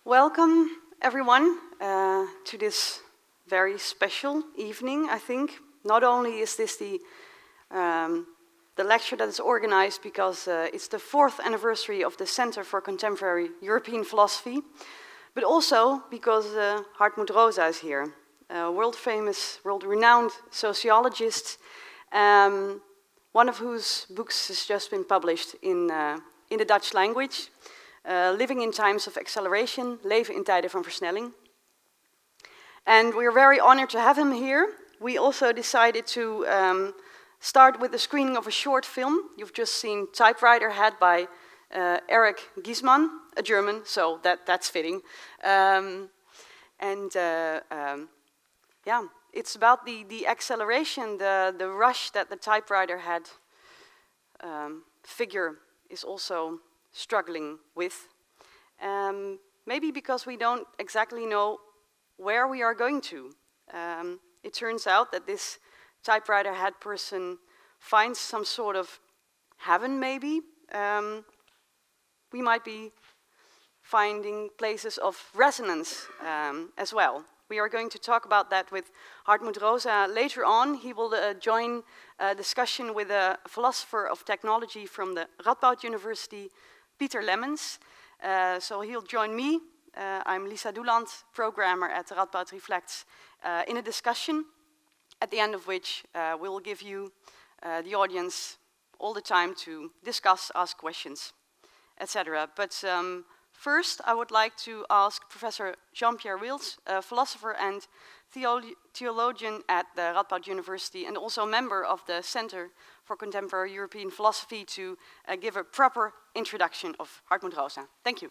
Welcome, everyone, to this very special evening, I think. Not only is this the lecture that is organized because it's the 4th anniversary of the Center for Contemporary European Philosophy, but also because Hartmut Rosa is here, a world-famous, world-renowned sociologist, one of whose books has just been published in the Dutch language. Living in Times of Acceleration, Leven in Tijden van Versnelling. And we're very honored to have him here. We also decided to start with the screening of a short film. You've just seen Typewriter Head by Eric Giesmann, a German, so that's fitting. Yeah, it's about the acceleration, the rush that the typewriter head figure is also struggling with. Maybe because we don't exactly know where we are going to. It turns out that this typewriter head person finds some sort of heaven, maybe. We might be finding places of resonance as well. We are going to talk about that with Hartmut Rosa later on. He will join a discussion with a philosopher of technology from the Radboud University, Pieter Lemmens. So he'll join me. I'm Lisa Doeland, programmer at Radboud Reflects, in a discussion, at the end of which we will give you, the audience, all the time to discuss, ask questions, etc. But first, I would like to ask Professor Jean-Pierre Wils, a philosopher and theologian at the Radboud University and also a member of the Center for Contemporary European Philosophy, to give a proper introduction of Hartmut Rosa. Thank you.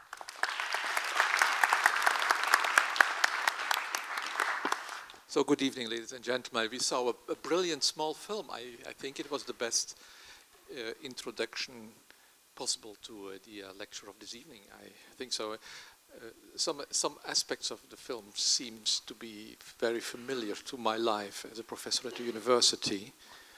So good evening, ladies and gentlemen. We saw a brilliant small film. I think it was the best introduction possible to the lecture of this evening. I think so. Some aspects of the film seems to be very familiar to my life as a professor at the university.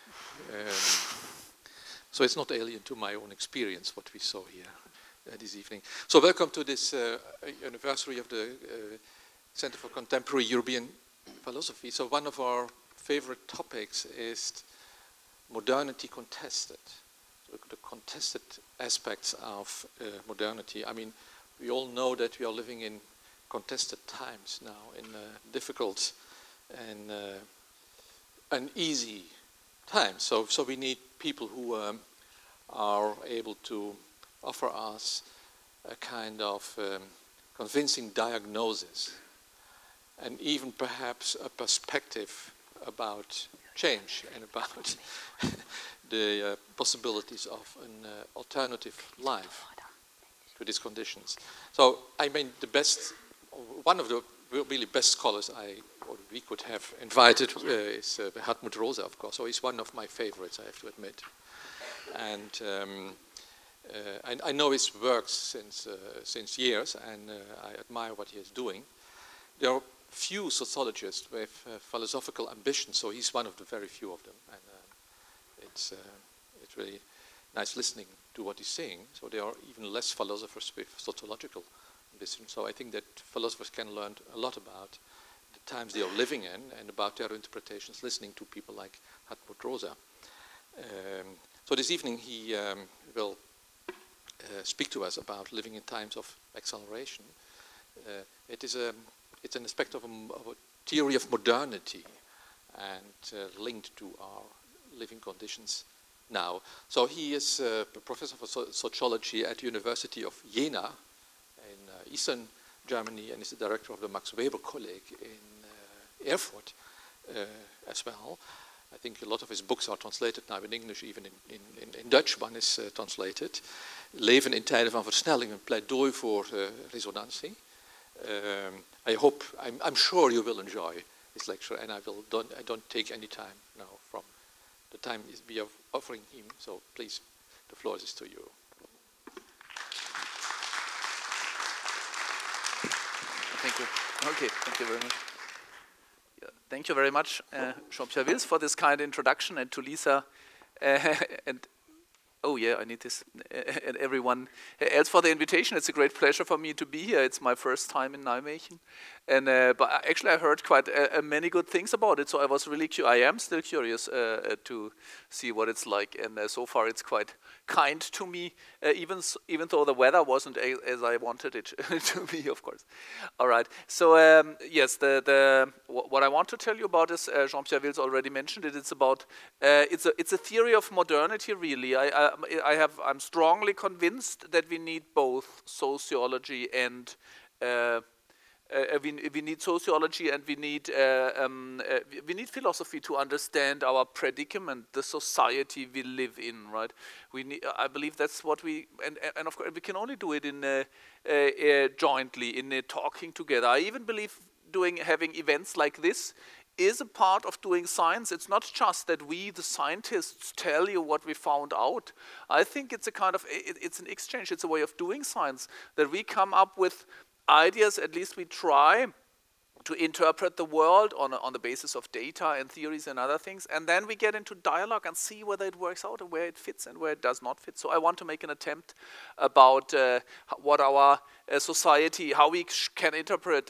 So it's not alien to my own experience what we saw here this evening. So welcome to this anniversary of the Center for Contemporary European Philosophy. So one of our favorite topics is modernity contested. The contested aspects of modernity. I mean, we all know that we are living in contested times now, in difficult and uneasy times. So we need people who are able to offer us a kind of convincing diagnosis and even perhaps a perspective about change and about the possibilities of an alternative life to these conditions. So, I mean, one of the really best scholars we could have invited is Hartmut Rosa, of course. So he's one of my favorites, I have to admit. And I know his works since years, and I admire what he is doing. There are few sociologists with philosophical ambition, so he's one of the very few of them. And it's really nice listening to what he's saying. So there are even less philosophers with sociological ambition. So I think that philosophers can learn a lot about the times they are living in and about their interpretations, listening to people like Hartmut Rosa. So this evening he will speak to us about living in times of acceleration. It's an aspect of a theory of modernity and linked to our living conditions now. So he is a professor for sociology at the University of Jena in Eastern Germany, and is the director of the Max Weber Kolleg in Erfurt as well. I think a lot of his books are translated now in English, even in Dutch one is translated. Leven in Tijden van Versnelling, een pleidooi voor resonantie. I'm sure you will enjoy his lecture, and I don't take any time now from the time we are offering him. So please, the floor is to you. Thank you. Okay, thank you very much. Yeah, thank you very much, Jean-Pierre Wils, for this kind introduction, and to Lisa and Oh yeah, I need this. And everyone else for the invitation. It's a great pleasure for me to be here. It's my first time in Nijmegen, and but actually I heard quite many good things about it. So I was really I am still curious to see what it's like. And so far it's quite kind to me, even though the weather wasn't as I wanted it to be, of course. All right. So yes, what I want to tell you about is Jean-Pierre Wills already mentioned it. It's about it's a theory of modernity. Really, I'm strongly convinced that we need both sociology and we need sociology and we need philosophy to understand our predicament, the society we live in. Right? I believe that's what we and of course we can only do it in jointly in talking together. I even believe having events like this is a part of doing science. It's not just that we, the scientists, tell you what we found out. I think it's a kind of, it's an exchange, it's a way of doing science, that we come up with ideas, at least we try to interpret the world on the basis of data and theories and other things, and then we get into dialogue and see whether it works out and where it fits and where it does not fit. So I want to make an attempt about what our society, how we can interpret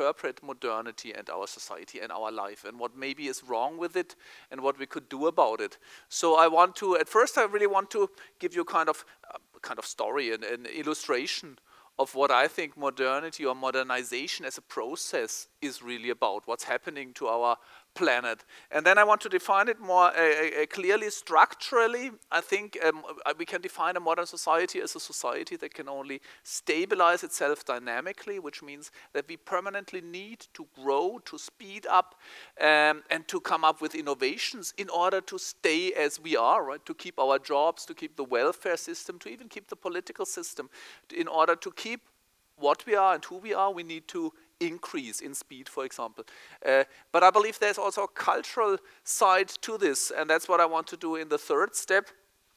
modernity and our society and our life, and what maybe is wrong with it and what we could do about it. So I want to, at first I really want to give you kind of story and an illustration of what I think modernity or modernization as a process is really about, what's happening to our planet. And then I want to define it more clearly, structurally. I think we can define a modern society as a society that can only stabilize itself dynamically, which means that we permanently need to grow, to speed up, and to come up with innovations in order to stay as we are, right? To keep our jobs, to keep the welfare system, to even keep the political system. In order to keep what we are and who we are, we need to increase in speed, for example. But I believe there's also a cultural side to this, and that's what I want to do in the third step.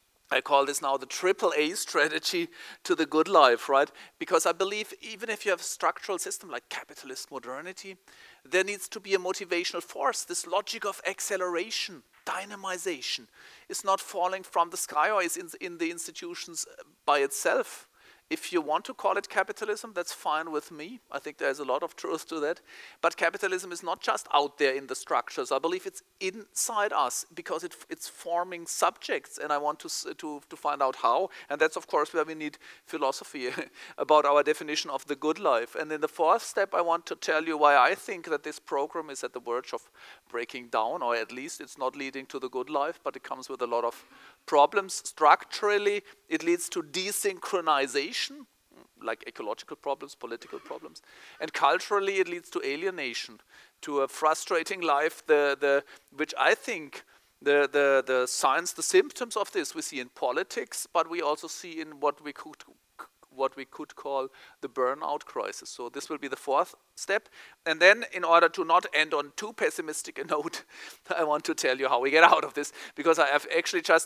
I call this now the AAA strategy to the good life, right? Because I believe even if you have a structural system like capitalist modernity, there needs to be a motivational force. This logic of acceleration, dynamization, is not falling from the sky or is in the institutions by itself. If you want to call it capitalism, that's fine with me. I think there's a lot of truth to that. But capitalism is not just out there in the structures. I believe it's inside us because it's forming subjects, and I want to find out how. And that's, of course, where we need philosophy about our definition of the good life. And in the fourth step, I want to tell you why I think that this program is at the verge of breaking down, or at least it's not leading to the good life, but it comes with a lot of problems. Structurally, it leads to desynchronization, like ecological problems, political problems. And culturally, it leads to alienation, to a frustrating life, which I think the signs, the symptoms of this we see in politics, but we also see in what we could call the burnout crisis. So this will be the fourth step. And then, in order to not end on too pessimistic a note, I want to tell you how we get out of this. Because I have actually just,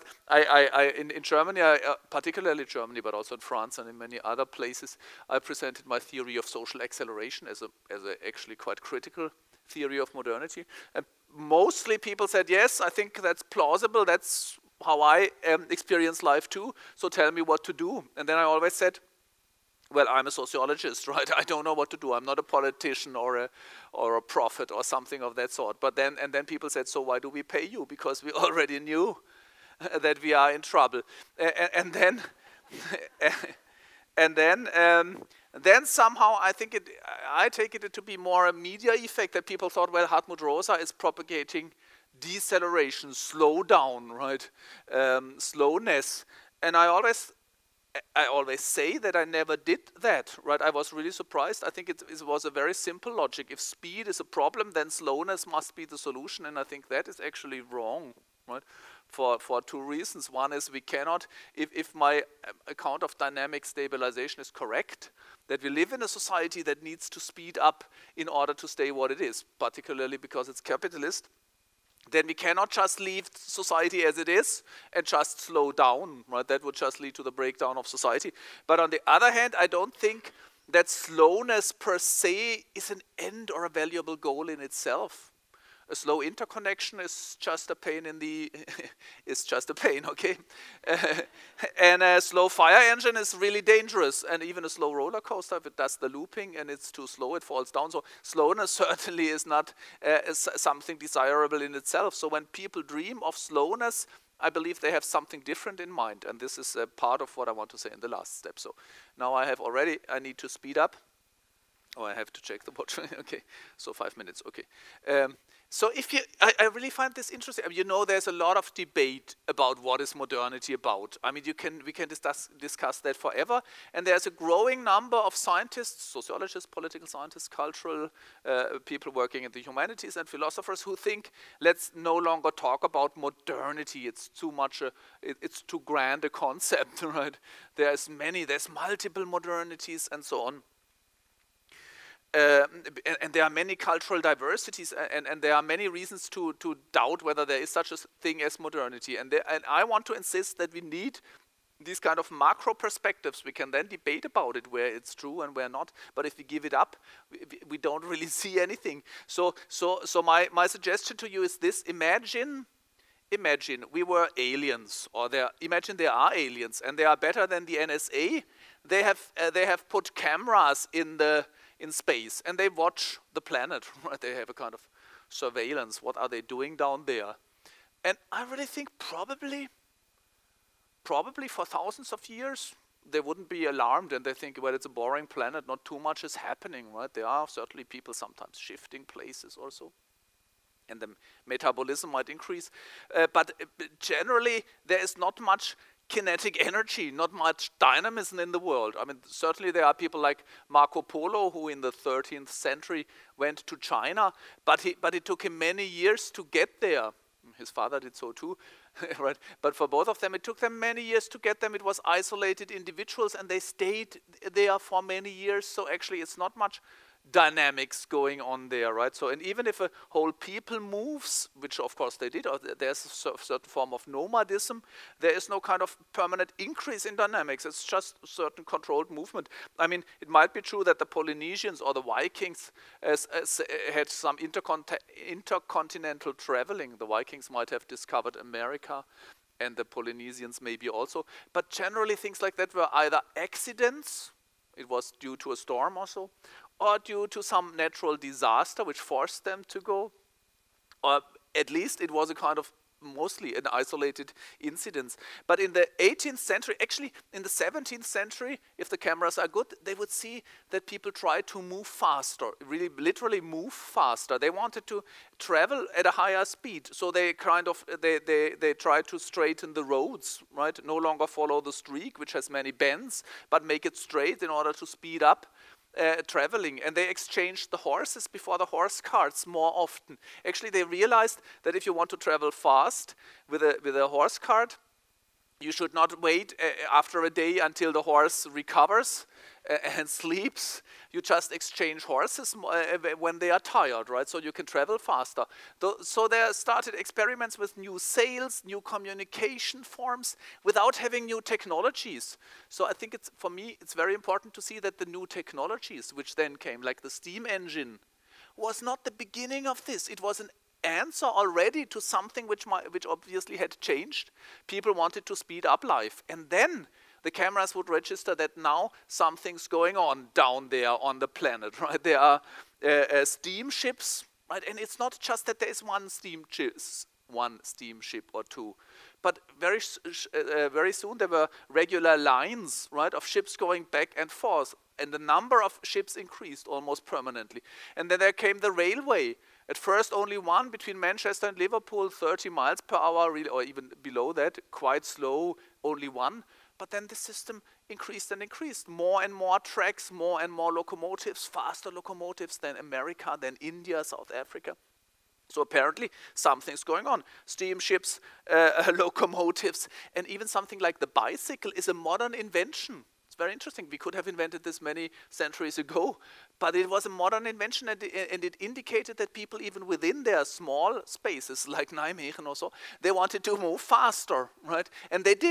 in Germany, particularly Germany, but also in France and in many other places, I presented my theory of social acceleration as a actually quite critical theory of modernity. And mostly people said, yes, I think that's plausible, that's how I experience life too, so tell me what to do. And then I always said, well, I'm a sociologist, right? I don't know what to do. I'm not a politician or a prophet or something of that sort. But then people said, so why do we pay you? Because we already knew that we are in trouble. And then somehow I take it to be more a media effect that people thought, well, Hartmut Rosa is propagating deceleration, slow down, right? Slowness. And I always say that I never did that, right? I was really surprised. I think it was a very simple logic. If speed is a problem, then slowness must be the solution, and I think that is actually wrong, right? For two reasons. One is we cannot, if my account of dynamic stabilization is correct, that we live in a society that needs to speed up in order to stay what it is, particularly because it's capitalist, then we cannot just leave society as it is and just slow down, right? That would just lead to the breakdown of society. But on the other hand, I don't think that slowness per se is an end or a valuable goal in itself. A slow interconnection is just a pain in the is just a pain, okay? And a slow fire engine is really dangerous, and even a slow roller coaster, if it does the looping and it's too slow, it falls down. So slowness certainly is not something desirable in itself. So when people dream of slowness, I believe they have something different in mind, and this is a part of what I want to say in the last step. So now I need to speed up. Oh, I have to check the watch. Okay, so 5 minutes, okay. So I really find this interesting. You know, there's a lot of debate about what is modernity about. I mean, we can discuss that forever. And there's a growing number of scientists, sociologists, political scientists, cultural people working in the humanities, and philosophers who think, let's no longer talk about modernity. It's too much, it's too grand a concept, right? There's multiple modernities and so on. And there are many cultural diversities, and there are many reasons to doubt whether there is such a thing as modernity. And I want to insist that we need these kind of macro perspectives. We can then debate about it, where it's true and where not. But if we give it up, we don't really see anything. So my suggestion to you is this: Imagine we were aliens, or imagine there are aliens, and they are better than the NSA. They have put cameras in space, and they watch the planet, right? They have a kind of surveillance. What are they doing down there? And I really think probably for thousands of years, they wouldn't be alarmed, and they think, well, it's a boring planet, not too much is happening, right? There are certainly people sometimes shifting places also, and the metabolism might increase. But generally, there is not much kinetic energy, not much dynamism in the world. I mean, certainly there are people like Marco Polo, who in the 13th century went to China, but it took him many years to get there. His father did so too, right? But for both of them, it took them many years to get them. It was isolated individuals, and they stayed there for many years. So actually, it's not much dynamics going on there, right? So, and even if a whole people moves, which of course they did, or there's a certain form of nomadism, there is no kind of permanent increase in dynamics. It's just a certain controlled movement. I mean, it might be true that the Polynesians or the Vikings had some intercontinental traveling. The Vikings might have discovered America, and the Polynesians maybe also. But generally, things like that were either accidents, it was due to a storm or so, or due to some natural disaster which forced them to go, or at least it was a kind of mostly an isolated incident. But in the 18th century, actually in the 17th century, if the cameras are good, they would see that people try to move faster, really literally move faster. They wanted to travel at a higher speed, so they they try to straighten the roads, right? No longer follow the streak, which has many bends, but make it straight in order to speed up traveling. And they exchanged the horses before the horse carts more often. Actually, they realized that if you want to travel fast with a horse cart, you should not wait after a day until the horse recovers and sleeps. You just exchange horses when they are tired, right? So you can travel faster. So there started experiments with new sails, new communication forms, without having new technologies. So I think for me, it's very important to see that the new technologies, which then came, like the steam engine, was not the beginning of this. It was an answer already to something which obviously had changed. People wanted to speed up life, and then the cameras would register that now something's going on down there on the planet, right? There are steamships, right? And it's not just that there is one steamship or two, but very soon there were regular lines, right, of ships going back and forth, and the number of ships increased almost permanently. And then there came the railway. At first, only one between Manchester and Liverpool, 30 miles per hour, really, or even below that, quite slow, only one. But then the system increased and increased. More and more tracks, more and more locomotives, faster locomotives than America, than India, South Africa. So apparently something's going on. Steamships, locomotives, and even something like the bicycle is a modern invention. It's very interesting. We could have invented this many centuries ago, but it was a modern invention, and it indicated that people, even within their small spaces, like Nijmegen or so, they wanted to move faster, right? And they did.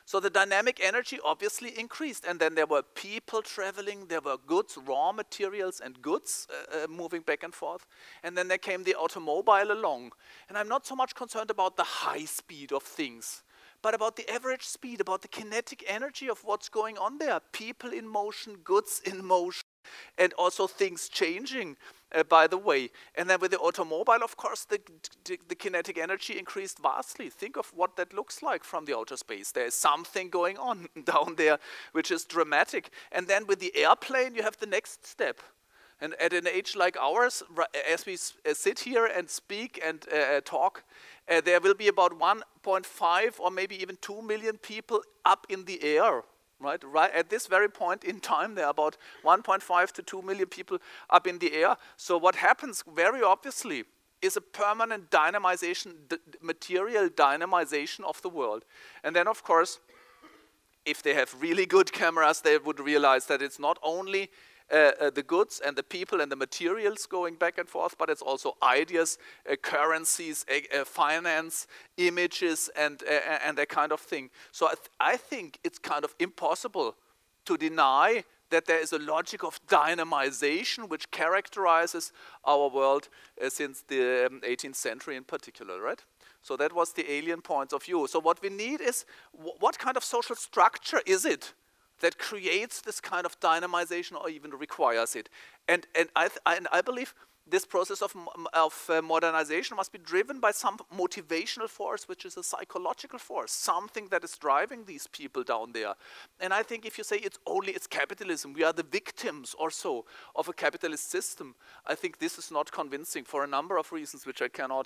So the dynamic energy obviously increased, and then there were people traveling, there were goods, raw materials and goods moving back and forth, and then there came the automobile along. And I'm not so much concerned about the high speed of things, but about the average speed, about the kinetic energy of what's going on there. People in motion, goods in motion, and also things changing, by the way. And then with the automobile, of course, the kinetic energy increased vastly. Think of what that looks like from the outer space. There is something going on down there which is dramatic. And then with the airplane, you have the next step. And at an age like ours, as we sit here and speak and talk, there will be about 1.5 or maybe even 2 million people up in the air. Right at this very point in time, there are about 1.5 to 2 million people up in the air. So what happens very obviously is a permanent dynamization, material dynamization of the world. And then, of course, if they have really good cameras, they would realize that it's not only the goods and the people and the materials going back and forth, but it's also ideas, currencies, finance, images, and that kind of thing. So I think it's kind of impossible to deny that there is a logic of dynamization which characterizes our world since the 18th century in particular, right? So that was the alien point of view. So what we need is, what kind of social structure is it that creates this kind of dynamization or even requires it? And I believe this process of modernization must be driven by some motivational force, which is a psychological force, something that is driving these people down there. And I think if you say it's capitalism, we are the victims or so of a capitalist system, I think this is not convincing for a number of reasons which I cannot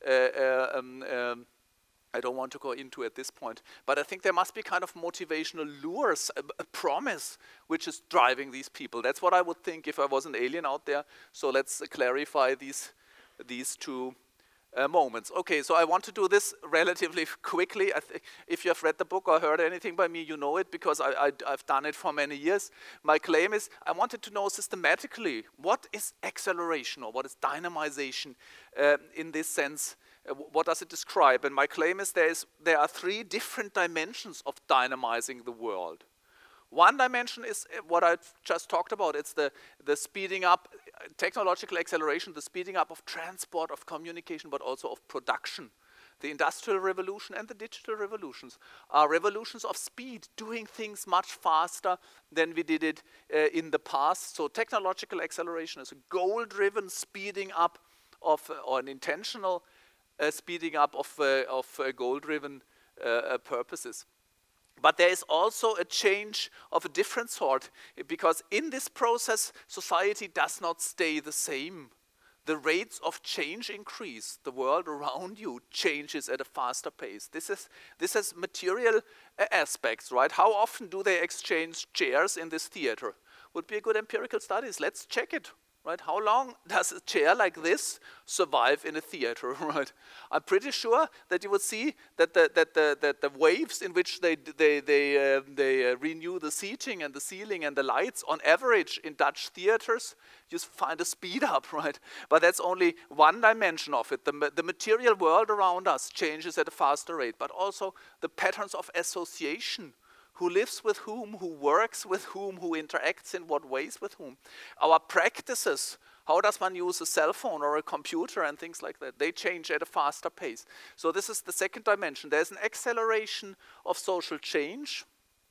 I don't want to go into at this point, but I think there must be kind of motivational lures, a promise which is driving these people. That's what I would think if I was an alien out there. So let's clarify these two moments. Okay, so I want to do this relatively quickly. If you have read the book or heard anything by me, you know it because I've done it for many years. My claim is I wanted to know systematically what is acceleration or what is dynamization in this sense. What does it describe? And my claim is there are 3 different dimensions of dynamizing the world. One dimension is what I just talked about. It's the speeding up, technological acceleration, the speeding up of transport, of communication, but also of production. The Industrial Revolution and the digital revolutions are revolutions of speed, doing things much faster than we did it in the past. So technological acceleration is a goal-driven speeding up of, or an intentional speeding up of goal-driven purposes. But there is also a change of a different sort, because in this process, society does not stay the same. The rates of change increase. The world around you changes at a faster pace. This has material aspects, right? How often do they exchange chairs in this theater? Would be a good empirical studies. Let's check it. Right? How long does a chair like this survive in a theater? Right? I'm pretty sure that you would see that the waves in which they renew the seating and the ceiling and the lights, on average in Dutch theaters, you find a speed up, right? But that's only one dimension of it. The material world around us changes at a faster rate, but also the patterns of association. Who lives with whom, who works with whom, who interacts in what ways with whom. Our practices, how does one use a cell phone or a computer and things like that, they change at a faster pace. So this is the second dimension. There's an acceleration of social change.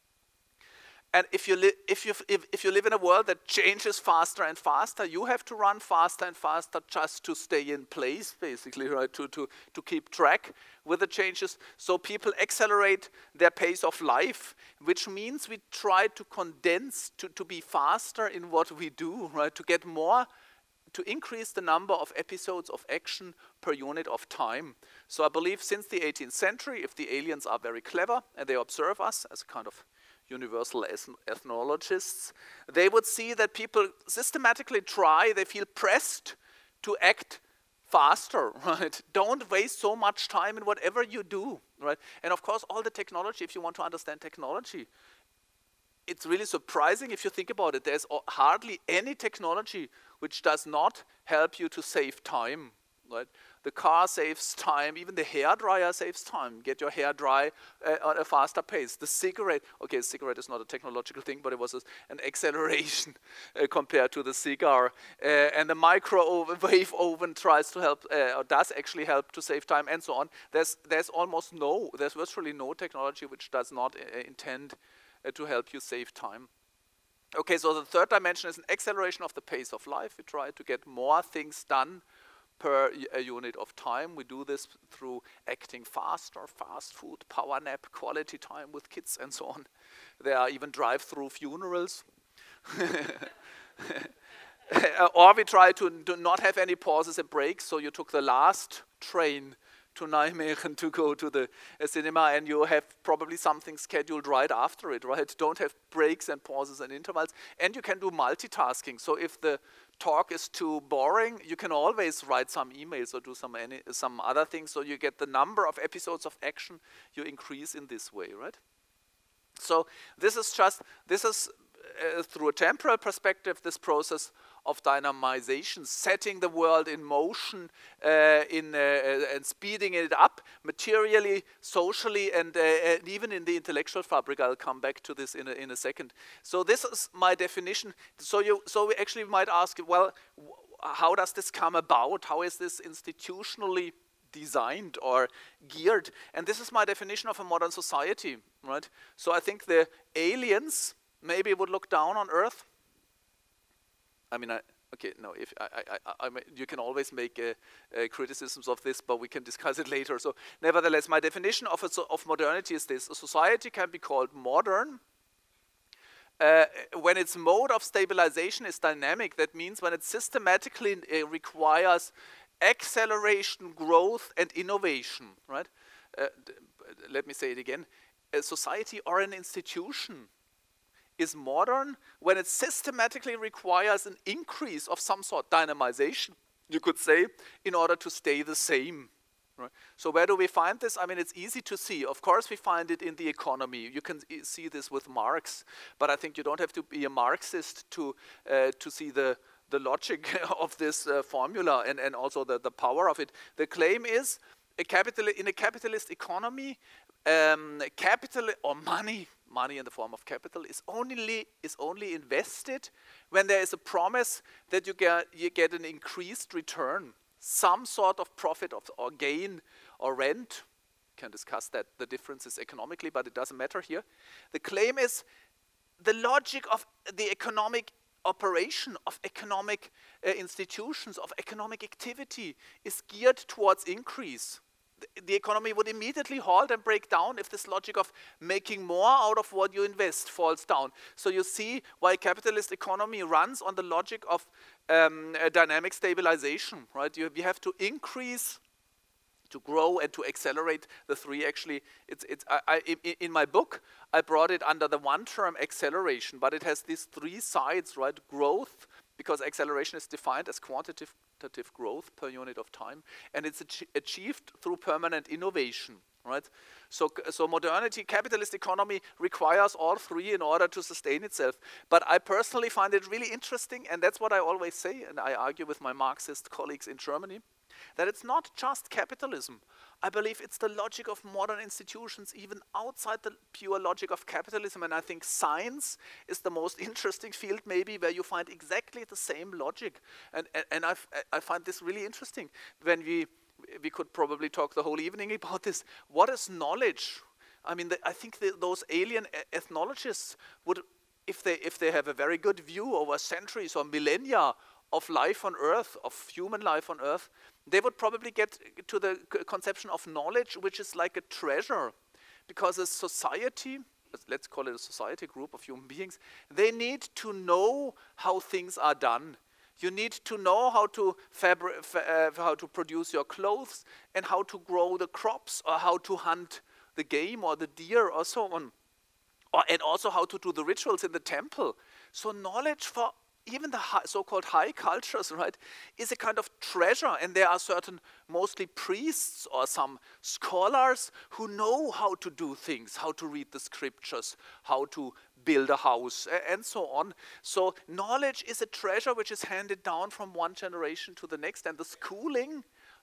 And if you live in a world that changes faster and faster, you have to run faster and faster just to stay in place, basically, right? To keep track with the changes. So people accelerate their pace of life, which means we try to condense, to be faster in what we do, right? To get more, to increase the number of episodes of action per unit of time. So I believe since the 18th century, if the aliens are very clever and they observe us as a kind of universal ethnologists, they would see that people systematically they feel pressed to act faster, right? Don't waste so much time in whatever you do, right? And of course, all the technology, if you want to understand technology, it's really surprising if you think about it. There's hardly any technology which does not help you to save time, right? The car saves time, even the hairdryer saves time. Get your hair dry at a faster pace. The cigarette, okay, a cigarette is not a technological thing, but it was an acceleration compared to the cigar. And the microwave oven tries to help, or does actually help to save time, and so on. There's virtually no technology which does not intend to help you save time. Okay, so the third dimension is an acceleration of the pace of life. We try to get more things done per unit of time. We do this through acting faster, fast food, power nap, quality time with kids, and so on. There are even drive-through funerals. Or we try to not have any pauses and breaks, so you took the last train to Nijmegen to go to the cinema, and you have probably something scheduled right after it, right? Don't have breaks and pauses and intervals. And you can do multitasking. So if the talk is too boring, you can always write some emails or do some other things. So you get the number of episodes of action you increase in this way, right? So this is through a temporal perspective, this process of dynamization, setting the world in motion and speeding it up materially, socially, and even in the intellectual fabric. I'll come back to this in a second. So this is my definition. So we actually might ask, well, how does this come about? How is this institutionally designed or geared? And this is my definition of a modern society, right? So I think the aliens maybe would look down on Earth. I mean, you can always make criticisms of this, but we can discuss it later. So, nevertheless, my definition of modernity is this: a society can be called modern when its mode of stabilization is dynamic. That means when it systematically requires acceleration, growth, and innovation. Right? Let me say it again: a society or an institution is modern when it systematically requires an increase of some sort, dynamization, you could say, in order to stay the same. Right? So where do we find this? I mean, it's easy to see. Of course, we find it in the economy. You can see this with Marx, but I think you don't have to be a Marxist to see the logic of this formula and also the power of it. The claim is, in a capitalist economy, capital or money in the form of capital is only invested when there is a promise that you get an increased return, some sort of profit or gain or rent. We can discuss that, the differences economically, but it doesn't matter here. The claim is the logic of the economic operation, of economic institutions, of economic activity is geared towards increase. The economy would immediately halt and break down if this logic of making more out of what you invest falls down. So you see why capitalist economy runs on the logic of dynamic stabilization, right? You have to increase, to grow, and to accelerate. The three actually, in my book, I brought it under the one term acceleration, but it has these three sides, right? Growth, because acceleration is defined as quantitative growth per unit of time, and it's achieved through permanent innovation, right? So modernity, capitalist economy requires all three in order to sustain itself. But I personally find it really interesting, and that's what I always say, and I argue with my Marxist colleagues in Germany, that it's not just capitalism. I believe it's the logic of modern institutions, even outside the pure logic of capitalism. And I think science is the most interesting field, maybe, where you find exactly the same logic. And I find this really interesting. When we could probably talk the whole evening about this. What is knowledge? I mean, I think those alien ethnologists would, if they have a very good view over centuries or millennia of life on Earth, of human life on Earth, they would probably get to the conception of knowledge, which is like a treasure. Because a society, let's call it a society, group of human beings, they need to know how things are done. You need to know how to produce your clothes, and how to grow the crops, or how to hunt the game or the deer or so on. And also how to do the rituals in the temple. So knowledge for even the so-called high cultures, right, is a kind of treasure. And there are certain, mostly priests or some scholars who know how to do things, how to read the scriptures, how to build a house, and so on. So knowledge is a treasure which is handed down from one generation to the next. And the schooling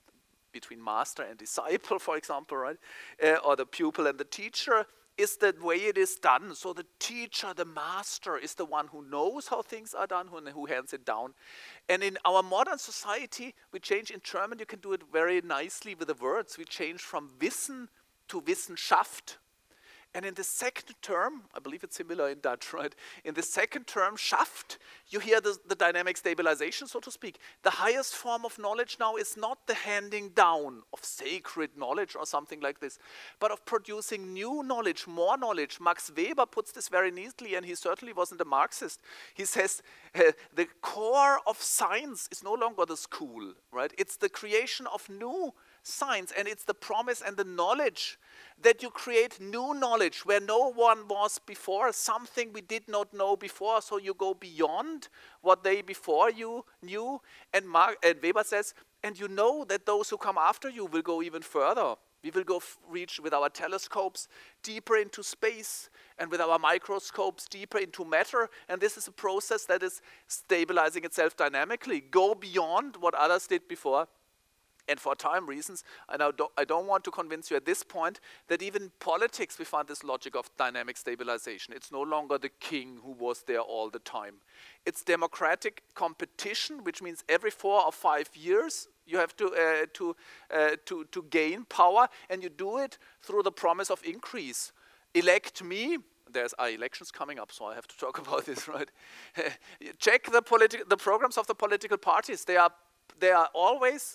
between master and disciple, for example, right? Or the pupil and the teacher, is the way it is done. So the teacher, the master, is the one who knows how things are done, who hands it down. And in our modern society, we change in German, you can do it very nicely with the words. We change from Wissen to Wissenschaft. And in the second term, I believe it's similar in Dutch, right? In the second term, Schaft, you hear the dynamic stabilization, so to speak. The highest form of knowledge now is not the handing down of sacred knowledge or something like this, but of producing new knowledge, more knowledge. Max Weber puts this very neatly, and he certainly wasn't a Marxist. He says the core of science is no longer the school, right? It's the creation of new science, and it's the promise and the knowledge that you create new knowledge where no one was before, something we did not know before, so you go beyond what they before you knew. And Weber says, and you know that those who come after you will go even further. We will go reach with our telescopes deeper into space, and with our microscopes deeper into matter, and this is a process that is stabilizing itself dynamically. Go beyond what others did before. And for time reasons, and I don't want to convince you at this point that even in politics we find this logic of dynamic stabilization. It's no longer the king who was there all the time. It's democratic competition, which means every 4 or 5 years you have to gain power, and you do it through the promise of increase. Elect me. There's elections coming up, so I have to talk about this, right? Check the programs of the political parties. They are always,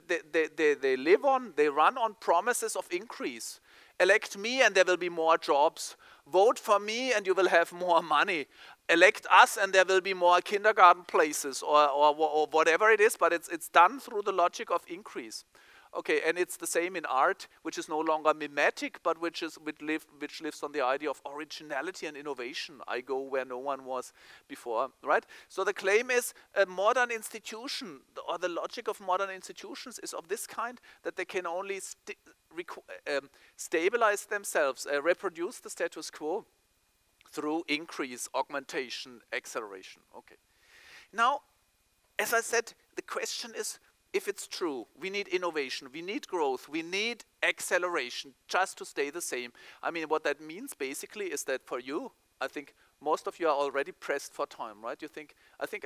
they run on promises of increase. Elect me and there will be more jobs. Vote for me and you will have more money. Elect us and there will be more kindergarten places or whatever it is, but it's done through the logic of increase. Okay, and it's the same in art, which is no longer mimetic, but which lives on the idea of originality and innovation. I go where no one was before, right? So the claim is a modern institution, or the logic of modern institutions is of this kind, that they can only stabilize themselves, reproduce the status quo through increase, augmentation, acceleration. Okay. Now, as I said, the question is, if it's true, we need innovation, we need growth, we need acceleration just to stay the same. I mean, what that means basically is that for you, I think most of you are already pressed for time, right? You think,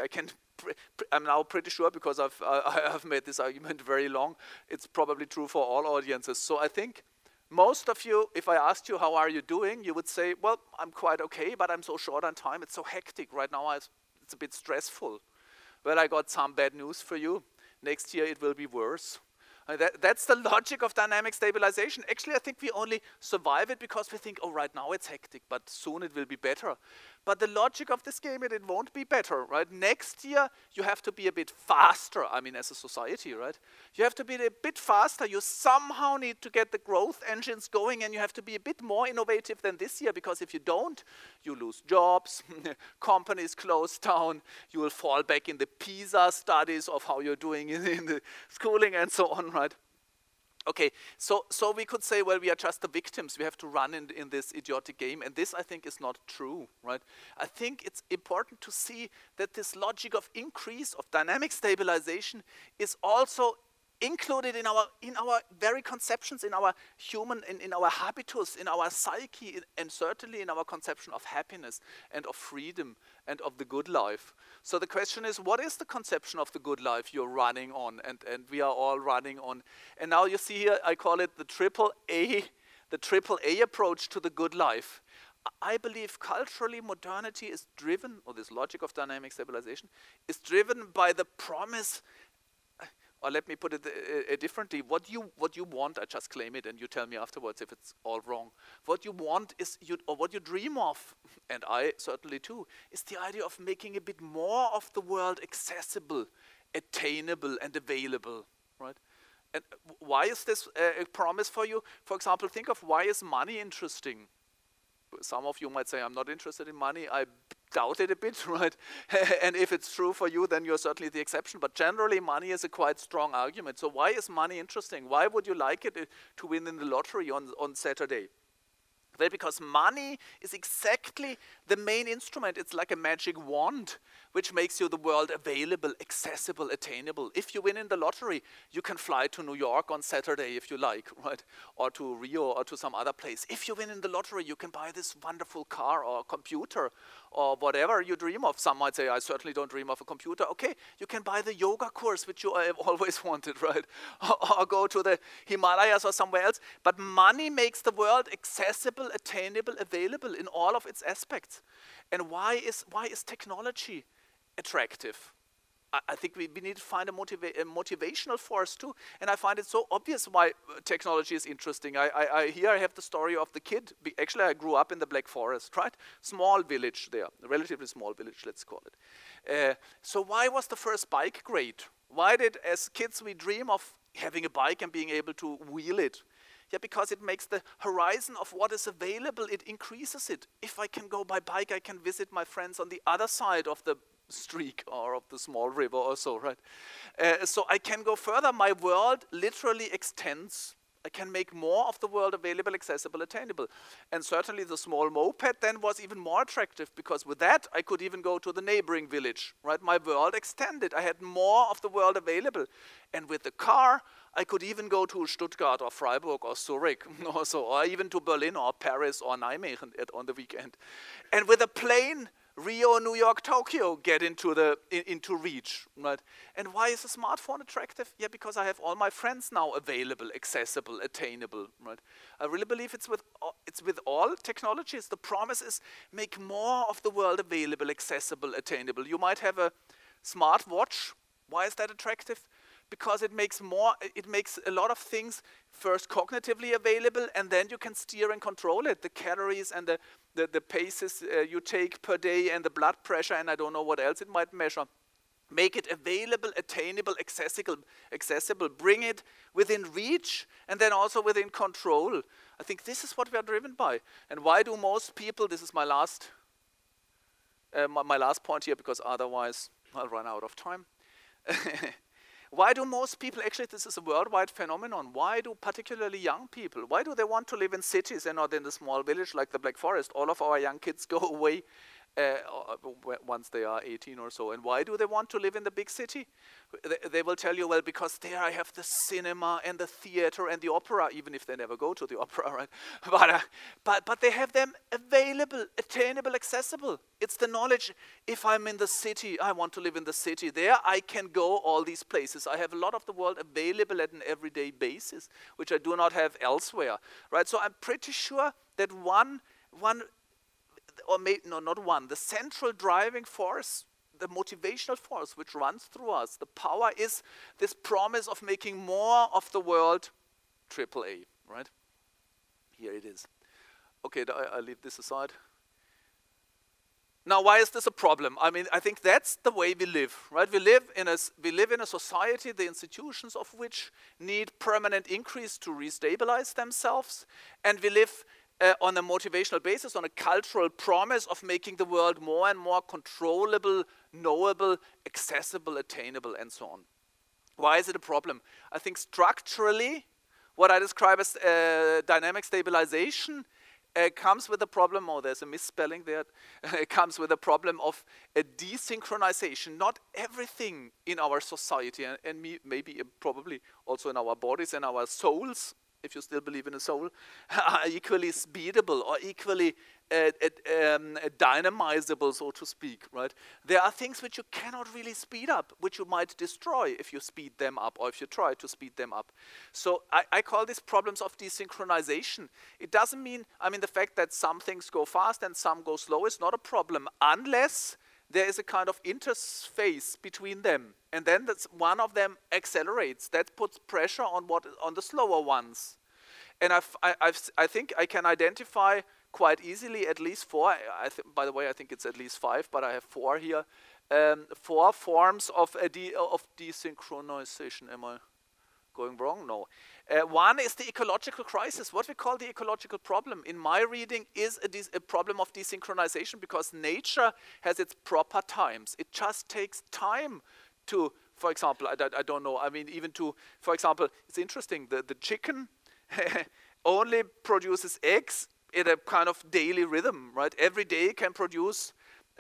I'm now pretty sure because I've made this argument very long. It's probably true for all audiences. So I think most of you, if I asked you, how are you doing? You would say, well, I'm quite okay, but I'm so short on time. It's so hectic right now. It's a bit stressful. Well, I got some bad news for you. Next year it will be worse. That's the logic of dynamic stabilization. Actually, I think we only survive it because we think, oh, right now it's hectic, but soon it will be better. But the logic of this game is it won't be better, right? Next year, you have to be a bit faster. I mean, as a society, right? You have to be a bit faster. You somehow need to get the growth engines going, and you have to be a bit more innovative than this year, because if you don't, you lose jobs, companies close down, you will fall back in the PISA studies of how you're doing in the schooling and so on, right? Okay, so we could say, well, we are just the victims. We have to run in this idiotic game, and this, I think, is not true, right? I think it's important to see that this logic of increase, of dynamic stabilization, is also included in our very conceptions, in our human, in our habitus, in our psyche, and certainly in our conception of happiness and of freedom and of the good life. So the question is, what is the conception of the good life you're running on, and we are all running on? And now you see here, I call it the triple A approach to the good life. I believe culturally modernity is driven, or this logic of dynamic stabilization, is driven by the promise. Or let me put it differently. What you want, I just claim it, and you tell me afterwards if it's all wrong. What you want is, or what you dream of, and I certainly too, is the idea of making a bit more of the world accessible, attainable, and available, right? And why is this a promise for you? For example, think of, why is money interesting? Some of you might say, I'm not interested in money. I doubt it a bit, right? And if it's true for you, then you're certainly the exception. But generally, money is a quite strong argument. So why is money interesting? Why would you like it to win in the lottery on Saturday? Well, because money is exactly the main instrument. It's like a magic wand which makes you the world available, accessible, attainable. If you win in the lottery, you can fly to New York on Saturday if you like, right? Or to Rio or to some other place. If you win in the lottery, you can buy this wonderful car or computer or whatever you dream of. Some might say, I certainly don't dream of a computer. Okay, you can buy the yoga course which you have always wanted, right? Or go to the Himalayas or somewhere else. But money makes the world accessible, attainable, available in all of its aspects. And why is technology attractive? I think we need to find a motivational force too. And I find it so obvious why technology is interesting. Here I have the story of the kid. Actually, I grew up in the Black Forest, right? Small village there, a relatively small village, let's call it. So why was the first bike great? Why did, as kids, we dream of having a bike and being able to wheel it? Yeah, because it makes the horizon of what is available, it increases it. If I can go by bike, I can visit my friends on the other side of the streak or of the small river or so, right? So I can go further. My world literally extends. I can make more of the world available, accessible, attainable. And certainly the small moped then was even more attractive because with that I could even go to the neighboring village, right? My world extended. I had more of the world available. And with the car, I could even go to Stuttgart or Freiburg or Zurich or even to Berlin or Paris or Nijmegen on the weekend. And with a plane, Rio, New York, Tokyo get into reach, right? And why is a smartphone attractive? Yeah, because I have all my friends now available, accessible, attainable, right? I really believe it's with all technologies. The promise is make more of the world available, accessible, attainable. You might have a smart watch. Why is that attractive? Because it makes a lot of things first cognitively available, and then you can steer and control it. The calories and the paces you take per day and the blood pressure and I don't know what else it might measure. Make it available, attainable, accessible. Bring it within reach and then also within control. I think this is what we are driven by. And why do most people, this is my last point here because otherwise I'll run out of time. Why do most people, actually this is a worldwide phenomenon, why do particularly young people, why do they want to live in cities and not in a small village like the Black Forest? All of our young kids go away once they are 18 or so. And why do they want to live in the big city? They will tell you, well, because there I have the cinema and the theater and the opera, even if they never go to the opera, right? But they have them available, attainable, accessible. It's the knowledge, if I'm in the city, I want to live in the city. There I can go all these places. I have a lot of the world available at an everyday basis, which I do not have elsewhere, right? So I'm pretty sure that the central driving force, the motivational force which runs through us, the power is this promise of making more of the world AAA, right? Here it is. Okay, I leave this aside. Now, why is this a problem? I mean, I think that's the way we live, right? We live in a society, the institutions of which need permanent increase to restabilize themselves, and we live on a motivational basis, on a cultural promise of making the world more and more controllable, knowable, accessible, attainable, and so on. Why is it a problem? I think structurally, what I describe as dynamic stabilization comes with a problem, there's a misspelling there, it comes with a problem of a desynchronization. Not everything in our society, and maybe probably also in our bodies and our souls, if you still believe in a soul, are equally speedable or equally dynamizable, so to speak, right? There are things which you cannot really speed up, which you might destroy if you speed them up or if you try to speed them up. So I call these problems of desynchronization. It doesn't mean, the fact that some things go fast and some go slow is not a problem unless there is a kind of interface between them. And then one of them accelerates. That puts pressure on the slower ones. And I think I can identify quite easily at least four. By the way, I think it's at least 5, but I have 4 here. 4 forms of desynchronization. Am I going wrong? No. One is the ecological crisis. What we call the ecological problem, in my reading, is a problem of desynchronization because nature has its proper times. It just takes time to, for example, I don't know, even to, for example, it's interesting, the chicken only produces eggs in a kind of daily rhythm, right? Every day can produce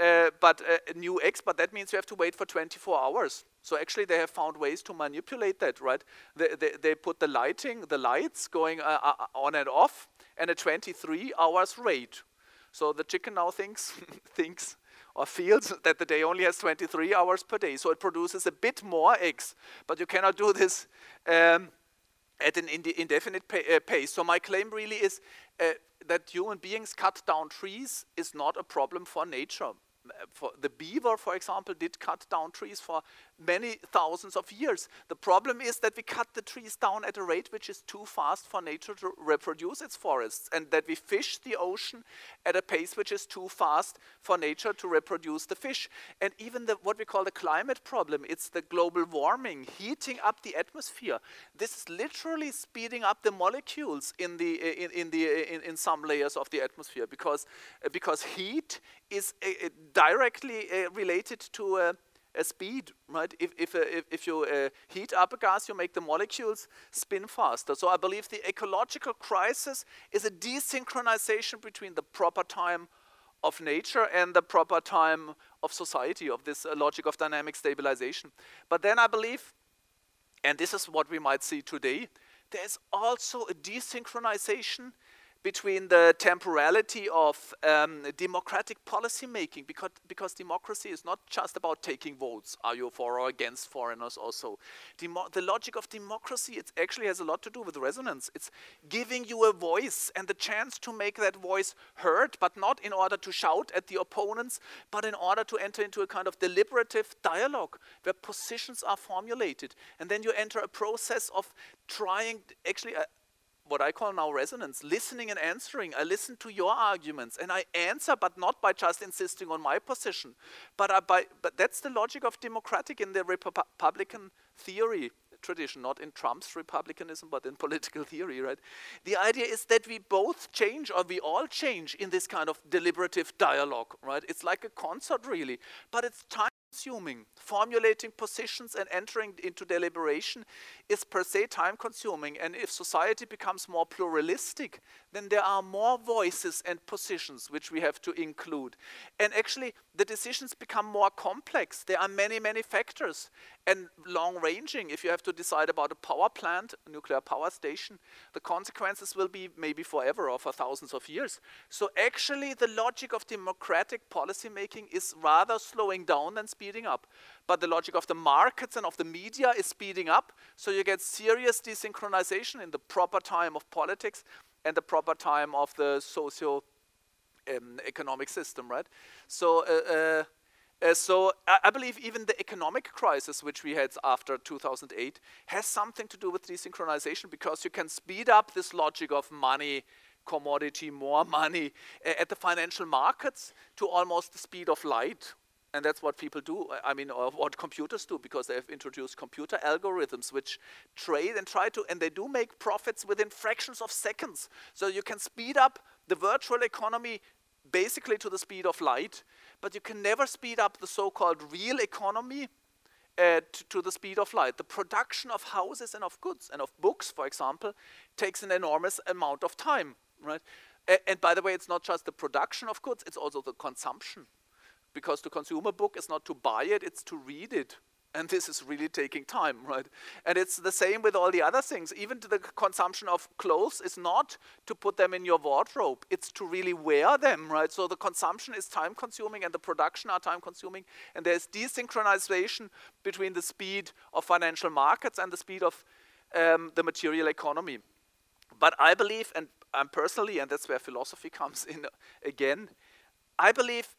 a new X, but that means you have to wait for 24 hours. So actually they have found ways to manipulate that, right? They put the lights going on and off, and a 23 hours rate. So the chicken now thinks or feels that the day only has 23 hours per day. So it produces a bit more eggs, but you cannot do this at an indefinite pace. So my claim really is that human beings cut down trees is not a problem for nature. For the beaver, for example, did cut down trees for many thousands of years. The problem is that we cut the trees down at a rate which is too fast for nature to reproduce its forests, and that we fish the ocean at a pace which is too fast for nature to reproduce the fish. And even what we call the climate problem, it's the global warming, heating up the atmosphere. This is literally speeding up the molecules in some layers of the atmosphere, because heat is directly related to a speed, right? If you heat up a gas, you make the molecules spin faster. So I believe the ecological crisis is a desynchronization between the proper time of nature and the proper time of society, of this logic of dynamic stabilization. But then I believe, and this is what we might see today, there's also a desynchronization between the temporality of democratic policy making, because democracy is not just about taking votes. Are you for or against foreigners also? The logic of democracy, it actually has a lot to do with resonance. It's giving you a voice and the chance to make that voice heard, but not in order to shout at the opponents, but in order to enter into a kind of deliberative dialogue where positions are formulated. And then you enter a process of trying, actually, what I call now resonance, listening and answering. I listen to your arguments and I answer, but not by just insisting on my position. But that's the logic of democratic in the Republican theory tradition, not in Trump's republicanism, but in political theory, right? The idea is that we both change, or we all change in this kind of deliberative dialogue, right? It's like a concert really, but it's time-consuming. Formulating positions and entering into deliberation is per se time-consuming, and if society becomes more pluralistic, then there are more voices and positions which we have to include. And actually, the decisions become more complex. There are many, many factors, and long-ranging. If you have to decide about a power plant, a nuclear power station, the consequences will be maybe forever or for thousands of years. So actually, the logic of democratic policymaking is rather slowing down than speeding up. But the logic of the markets and of the media is speeding up, so you get serious desynchronization in the proper time of politics and the proper time of the socio-economic system, right? So I believe even the economic crisis which we had after 2008 has something to do with desynchronization, because you can speed up this logic of money, commodity, more money at the financial markets to almost the speed of light. And that's what people do, or what computers do, because they have introduced computer algorithms which trade and and they do make profits within fractions of seconds. So you can speed up the virtual economy basically to the speed of light, but you can never speed up the so-called real economy to the speed of light. The production of houses and of goods and of books, for example, takes an enormous amount of time, right? And by the way, it's not just the production of goods, it's also the consumption. Because to consume a book is not to buy it, it's to read it. And this is really taking time, right? And it's the same with all the other things. Even the consumption of clothes is not to put them in your wardrobe. It's to really wear them, right? So the consumption is time-consuming and the production are time-consuming. And there's desynchronization between the speed of financial markets and the speed of the material economy. But I believe, and I'm personally, and that's where philosophy comes in again, I believe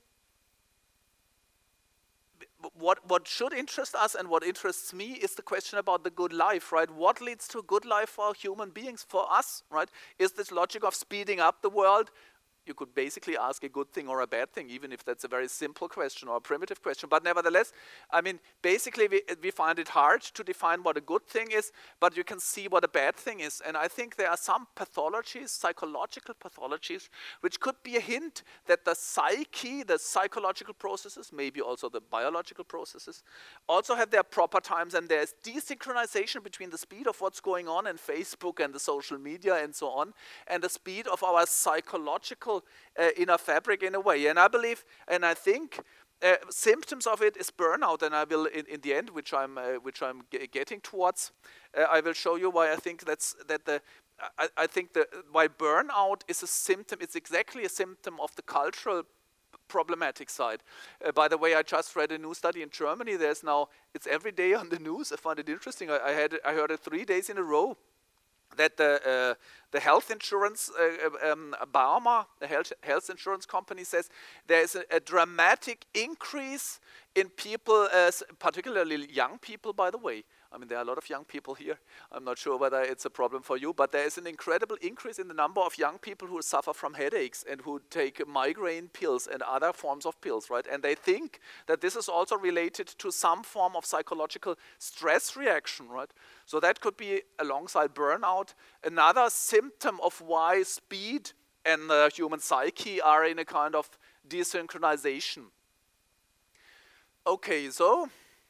what should interest us and what interests me is the question about the good life, right? What leads to a good life for human beings, for us, right? Is this logic of speeding up the world You could basically ask a good thing or a bad thing, even if that's a very simple question or a primitive question. But nevertheless, I mean, basically we find it hard to define what a good thing is, but you can see what a bad thing is. And I think there are some pathologies, psychological pathologies, which could be a hint that the psyche, the psychological processes, maybe also the biological processes, also have their proper times, and there's desynchronization between the speed of what's going on in Facebook and the social media and so on, and the speed of our psychological inner fabric in a way. And I believe, and I think symptoms of it is burnout, and I will in the end, which I'm getting towards, I will show you why I think I think why burnout is a symptom. It's exactly a symptom of the cultural problematic side. By the way, I just read a new study in Germany. There's now, it's every day on the news. I find it interesting. I heard it 3 days in a row, that the health insurance, Barmer, the health insurance company, says there is a dramatic increase in people, particularly young people, by the way. I mean, there are a lot of young people here. I'm not sure whether it's a problem for you, but there is an incredible increase in the number of young people who suffer from headaches and who take migraine pills and other forms of pills, right? And they think that this is also related to some form of psychological stress reaction, right? So that could be, alongside burnout, another symptom of why speed and the human psyche are in a kind of desynchronization. Okay, so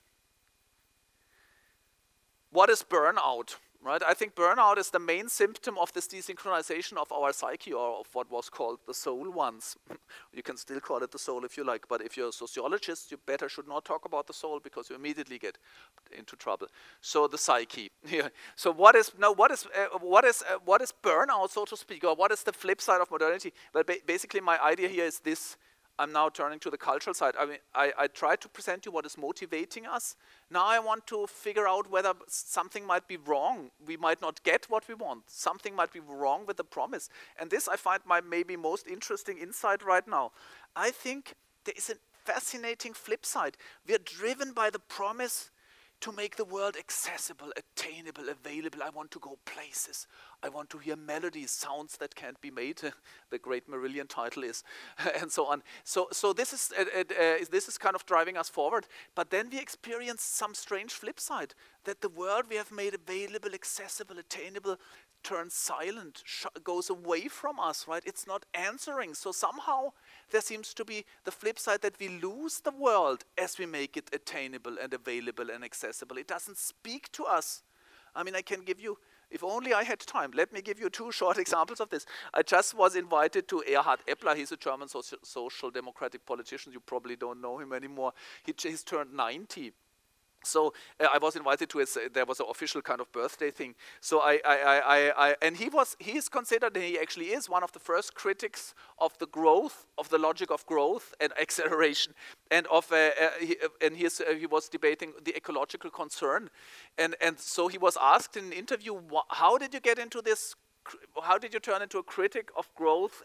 what is burnout, right? I think burnout is the main symptom of this desynchronization of our psyche, or of what was called the soul once. You can still call it the soul if you like, but if you're a sociologist, you better should not talk about the soul, because you immediately get into trouble. So the psyche. Yeah. So what is burnout, so to speak, or what is the flip side of modernity? Well, basically my idea here is this. I'm now turning to the cultural side. I mean, I tried to present you what is motivating us. Now I want to figure out whether something might be wrong. We might not get what we want. Something might be wrong with the promise. And this I find my maybe most interesting insight right now. I think there is a fascinating flip side. We are driven by the promise to make the world accessible, attainable, available. I want to go places. I want to hear melodies, sounds that can't be made. The great Marillion title is, and so on. So this is kind of driving us forward. But then we experience some strange flip side, that the world we have made available, accessible, attainable, turns silent, goes away from us, right? It's not answering. So somehow there seems to be the flip side, that we lose the world as we make it attainable and available and accessible. It doesn't speak to us. I mean, I can give you, if only I had time, let me give you 2 short examples of this. I just was invited to Erhard Eppler. He's a German social democratic politician. You probably don't know him anymore. He's turned 90. So I was invited to his, there was an official kind of birthday thing. So and he is considered, and he actually is, one of the first critics of the growth, of the logic of growth and acceleration, and he was debating the ecological concern, and so he was asked in an interview, how did you get into this? How did you turn into a critic of growth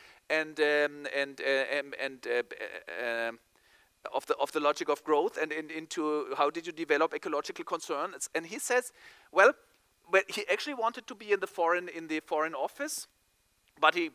of the logic of growth, and into how did you develop ecological concerns? And he says, well, he actually wanted to be in the foreign office, but he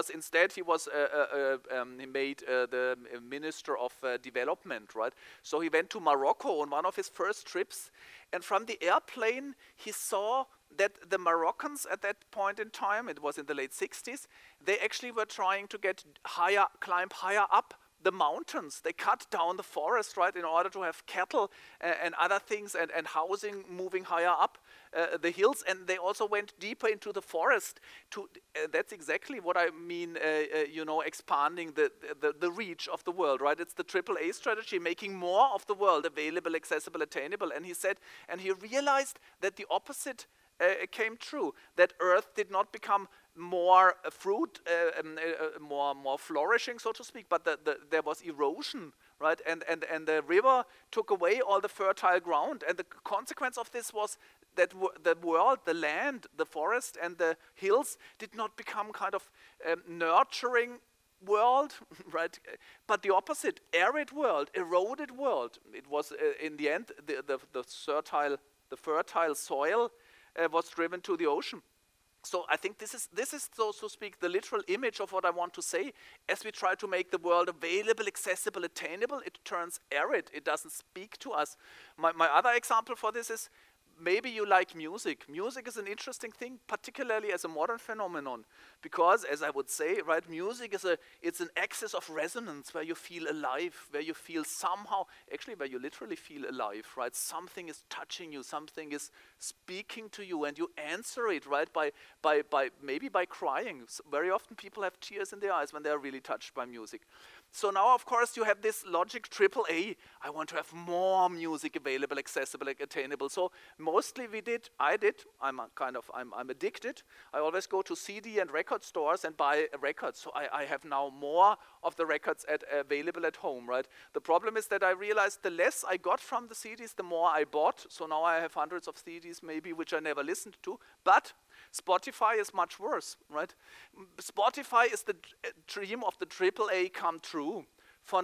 made the minister of development, right? So he went to Morocco on one of his first trips, and from the airplane he saw that the Moroccans at that point in time, it was in the late 60s, they actually were trying to climb higher up the mountains. They cut down the forest, right, in order to have cattle and other things, and housing moving higher up the hills, and they also went deeper into the forest. That's exactly what I mean, expanding the reach of the world, right? It's the AAA strategy, making more of the world available, accessible, attainable. And he said, and he realized that the opposite came true, that Earth did not become more more flourishing, so to speak, but there was erosion, right? And the river took away all the fertile ground, and the consequence of this was that the world, the land, the forest, and the hills did not become kind of nurturing world, right? But the opposite, arid world, eroded world. It was in the end the fertile soil was driven to the ocean. So I think this is, so to speak, the literal image of what I want to say. As we try to make the world available, accessible, attainable, it turns arid. It doesn't speak to us. My other example for this is, maybe you like music. Music is an interesting thing, particularly as a modern phenomenon, because, as I would say, right, music is it's an axis of resonance where you feel alive, where you feel somehow, actually where you literally feel alive, right? Something is touching you, something is speaking to you, and you answer it, right, maybe by crying. Very often people have tears in their eyes when they are really touched by music. So now, of course, you have this logic AAA. I want to have more music available, accessible, attainable. So mostly I'm addicted. I always go to CD and record stores and buy records. So I have now more of the records available at home, right? The problem is that I realized the less I got from the CDs, the more I bought. So now I have hundreds of CDs maybe which I never listened to. But Spotify is much worse, right? Spotify is the dream of the AAA come true. For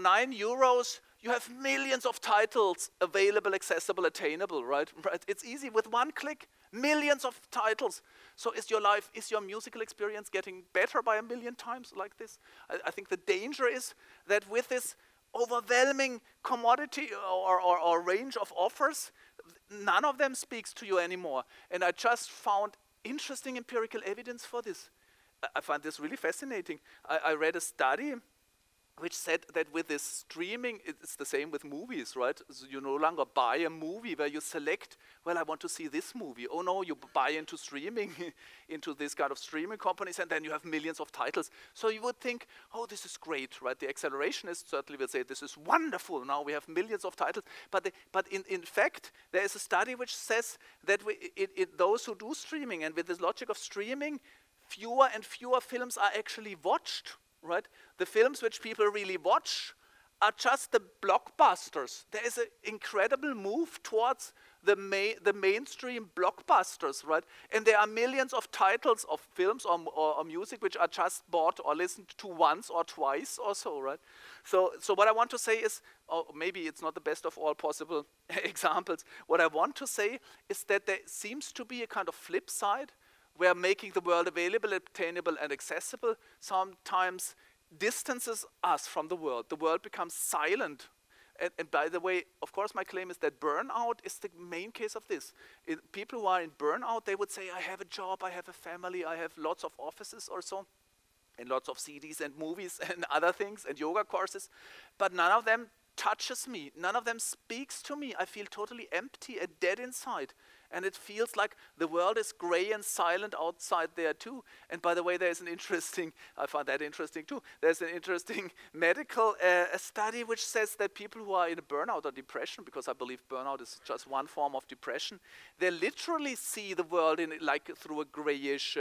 €9, you have millions of titles available, accessible, attainable, right? It's easy with one click, millions of titles. So is your musical experience getting better by 1,000,000 times like this? I think the danger is that with this overwhelming commodity or range of offers, none of them speaks to you anymore. And I just found interesting empirical evidence for this. I find this really fascinating. I read a study which said that with this streaming, it's the same with movies, right? So you no longer buy a movie where you select, well, I want to see this movie. Oh no, you buy into streaming, into this kind of streaming companies, and then you have millions of titles. So you would think, oh, this is great, right? The accelerationists certainly will say, this is wonderful. Now we have millions of titles. But in fact, there is a study which says that those who do streaming, and with this logic of streaming, fewer and fewer films are actually watched. Right? The films which people really watch are just the blockbusters. There is an incredible move towards the mainstream blockbusters, right? And there are millions of titles of films or music which are just bought or listened to once or twice or so, right? So what I want to say is, maybe it's not the best of all possible examples. What I want to say is that there seems to be a kind of flip side where making the world available, attainable, and accessible sometimes distances us from the world. The world becomes silent. And by the way, of course, my claim is that burnout is the main case of this. People who are in burnout, they would say, I have a job, I have a family, I have lots of offices or so, and lots of CDs and movies and other things and yoga courses, but none of them touches me. None of them speaks to me. I feel totally empty and dead inside. And it feels like the world is gray and silent outside there too. And by the way, there's an interesting, I find that interesting too, there's an interesting medical study which says that people who are in a burnout or depression, because I believe burnout is just one form of depression, they literally see the world like through a grayish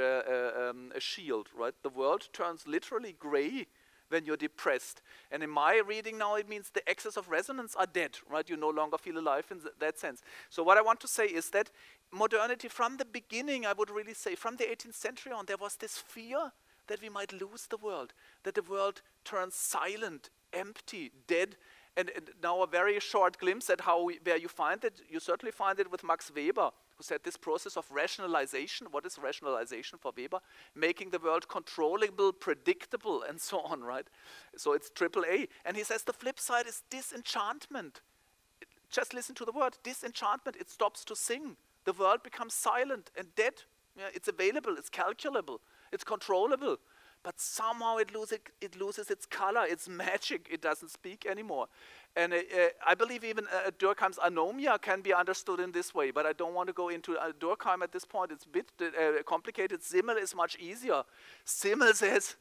shield, right? The world turns literally gray when you're depressed. And in my reading now, it means the axis of resonance are dead, right? You no longer feel alive in that sense. So what I want to say is that modernity, from the beginning, I would really say, from the 18th century on, there was this fear that we might lose the world, that the world turns silent, empty, dead. And now a very short glimpse at where you find it. You certainly find it with Max Weber, who said this process of rationalization. What is rationalization for Weber? Making the world controllable, predictable, and so on, right? So it's AAA. And he says the flip side is disenchantment. Just listen to the word, disenchantment. It stops to sing. The world becomes silent and dead. Yeah, it's available, it's calculable, it's controllable. But somehow it loses its color, its magic. It doesn't speak anymore. And I believe even Durkheim's anomia can be understood in this way, but I don't want to go into Durkheim at this point. It's a bit complicated. Simmel is much easier. Simmel says,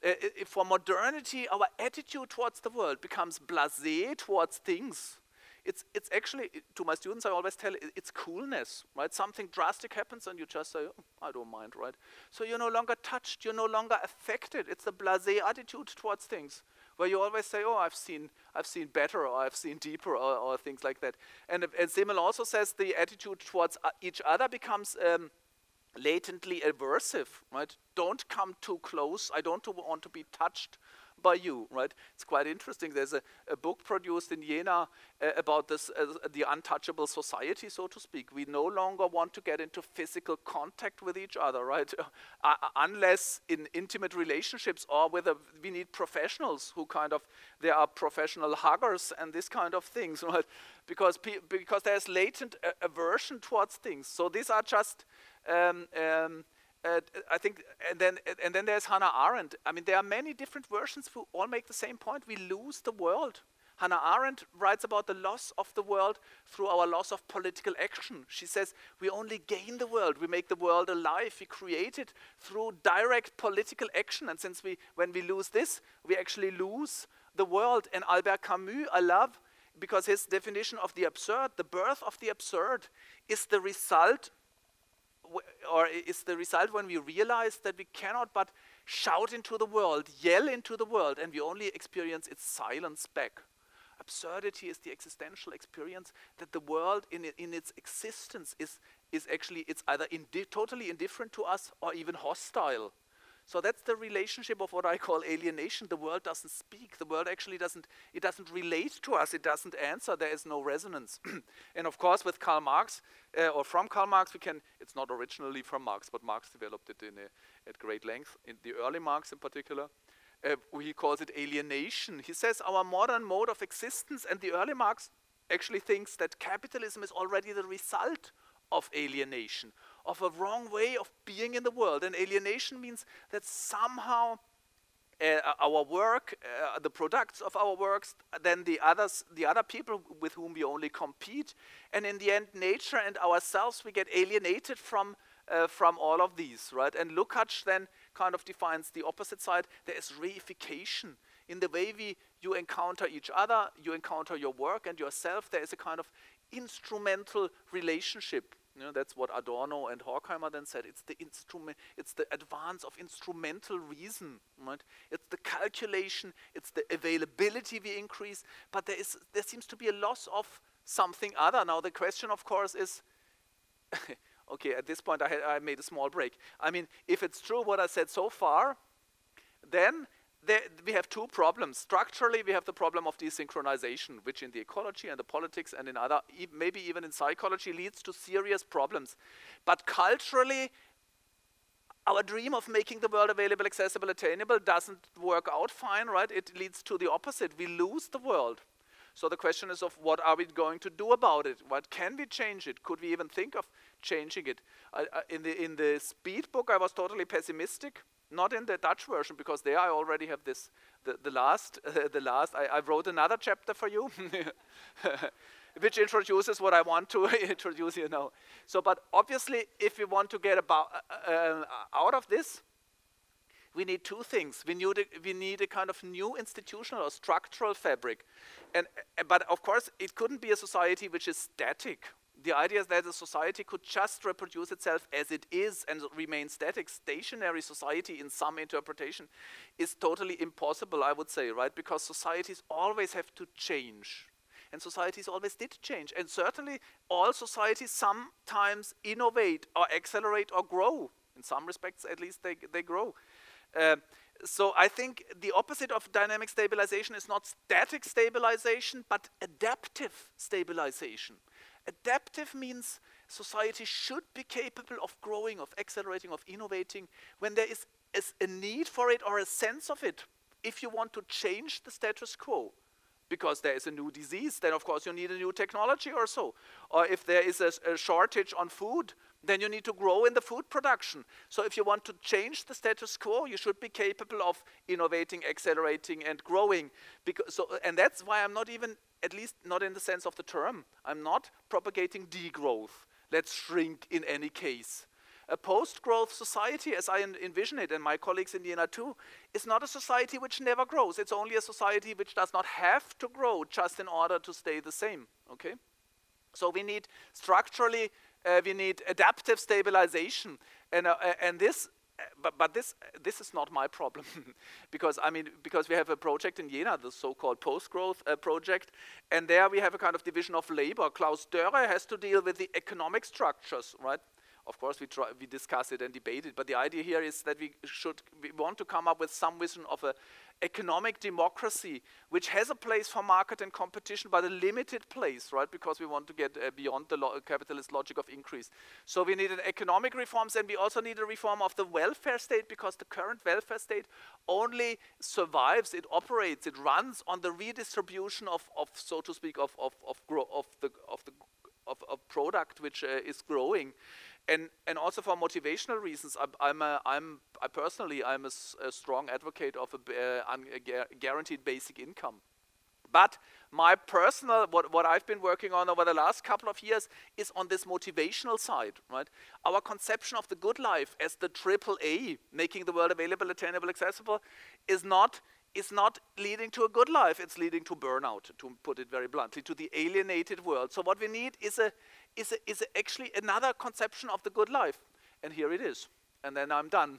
for modernity, our attitude towards the world becomes blasé towards things. It's actually, to my students, I always tell it's coolness, right? Something drastic happens and you just say, oh, I don't mind, right? So you're no longer touched, you're no longer affected. It's a blasé attitude towards things, where you always say, oh, I've seen better, or I've seen deeper, or things like that. And Simmel also says the attitude towards each other becomes latently aversive, right? Don't come too close. I don't want to be touched by you, right? It's quite interesting. There's a book produced in Jena about this, the untouchable society, so to speak. We no longer want to get into physical contact with each other, right? Unless in intimate relationships, or whether we need professionals who there are professional huggers and this kind of things, right? Because there's latent aversion towards things. So these are just, I think, and then there's Hannah Arendt. I mean, there are many different versions who all make the same point. We lose the world. Hannah Arendt writes about the loss of the world through our loss of political action. She says we only gain the world. We make the world alive. We create it through direct political action. And when we lose this, we actually lose the world. And Albert Camus, I love, because his definition of the absurd, the birth of the absurd, is the result when we realize that we cannot but shout into the world, yell into the world, and we only experience its silence back. Absurdity is the existential experience that the world in its existence is actually, it's either totally indifferent to us or even hostile. So that's the relationship of what I call alienation. The world doesn't speak. The world actually doesn't relate to us. It doesn't answer. There is no resonance. And of course, with Karl Marx, or from Karl Marx, it's not originally from Marx, but Marx developed it at great length, in the early Marx in particular. He calls it alienation. He says our modern mode of existence, and the early Marx actually thinks that capitalism is already the result of alienation, of a wrong way of being in the world. And alienation means that somehow our work, the products of our works, then the other people with whom we only compete, and in the end, nature and ourselves, we get alienated from all of these, right? And Lukács then kind of defines the opposite side. There is reification in the way you encounter each other, you encounter your work and yourself. There is a kind of instrumental relationship. That's what Adorno and Horkheimer then said. It's the advance of instrumental reason, right? It's the calculation, it's the availability we increase, but there seems to be a loss of something other. Now the question, of course, is, okay, at this point I made a small break. I mean, if it's true what I said so far, then we have two problems. Structurally, we have the problem of desynchronization, which in the ecology and the politics and in other, maybe even in psychology, leads to serious problems. But culturally, our dream of making the world available, accessible, attainable doesn't work out fine, right? It leads to the opposite. We lose the world. So the question is of what are we going to do about it? What can we change it? Could we even think of changing it? In the Speed book, I was totally pessimistic. Not in the Dutch version, because there I already have this. The last. I wrote another chapter for you, which introduces what I want to introduce here now. So, but obviously, if we want to get out of this, we need two things. We need a kind of new institutional or structural fabric, but of course, it couldn't be a society which is static. The idea is that a society could just reproduce itself as it is and remain static. Stationary society in some interpretation is totally impossible, I would say, right? Because societies always have to change. And societies always did change. And certainly all societies sometimes innovate or accelerate or grow. In some respects, at least, they grow. So I think the opposite of dynamic stabilization is not static stabilization, but adaptive stabilization. Adaptive means society should be capable of growing, of accelerating, of innovating when there is a need for it or a sense of it. If you want to change the status quo, because there is a new disease, then of course you need a new technology or so. Or if there is a shortage on food, then you need to grow in the food production. So if you want to change the status quo, you should be capable of innovating, accelerating, and growing. And that's why I'm not even, at least not in the sense of the term, I'm not propagating degrowth. Let's shrink in any case. A post-growth society, as I envision it, and my colleagues in Vienna too, is not a society which never grows. It's only a society which does not have to grow just in order to stay the same. Okay? So we need structurally, we need adaptive stabilization, and this. But this is not my problem, because we have a project in Jena, the so-called post-growth project, and there we have a kind of division of labor. Klaus Dörre has to deal with the economic structures, right, Of course, we discuss it and debate it, but the idea here is that we want to come up with some vision of a economic democracy which has a place for market and competition, but a limited place, right? Because we want to get beyond the capitalist logic of increase. So we need an economic reforms, and we also need a reform of the welfare state, because the current welfare state only survives, it operates, it runs on the redistribution of so to speak, of product which is growing. And also for motivational reasons, I personally am a strong advocate of a guaranteed basic income. But my personal, what I've been working on over the last couple of years is on this motivational side, right? Our conception of the good life as the AAA, making the world available, attainable, accessible, is not leading to a good life. It's leading to burnout, to put it very bluntly, to the alienated world. So what we need is actually another conception of the good life. And here it is. And then I'm done.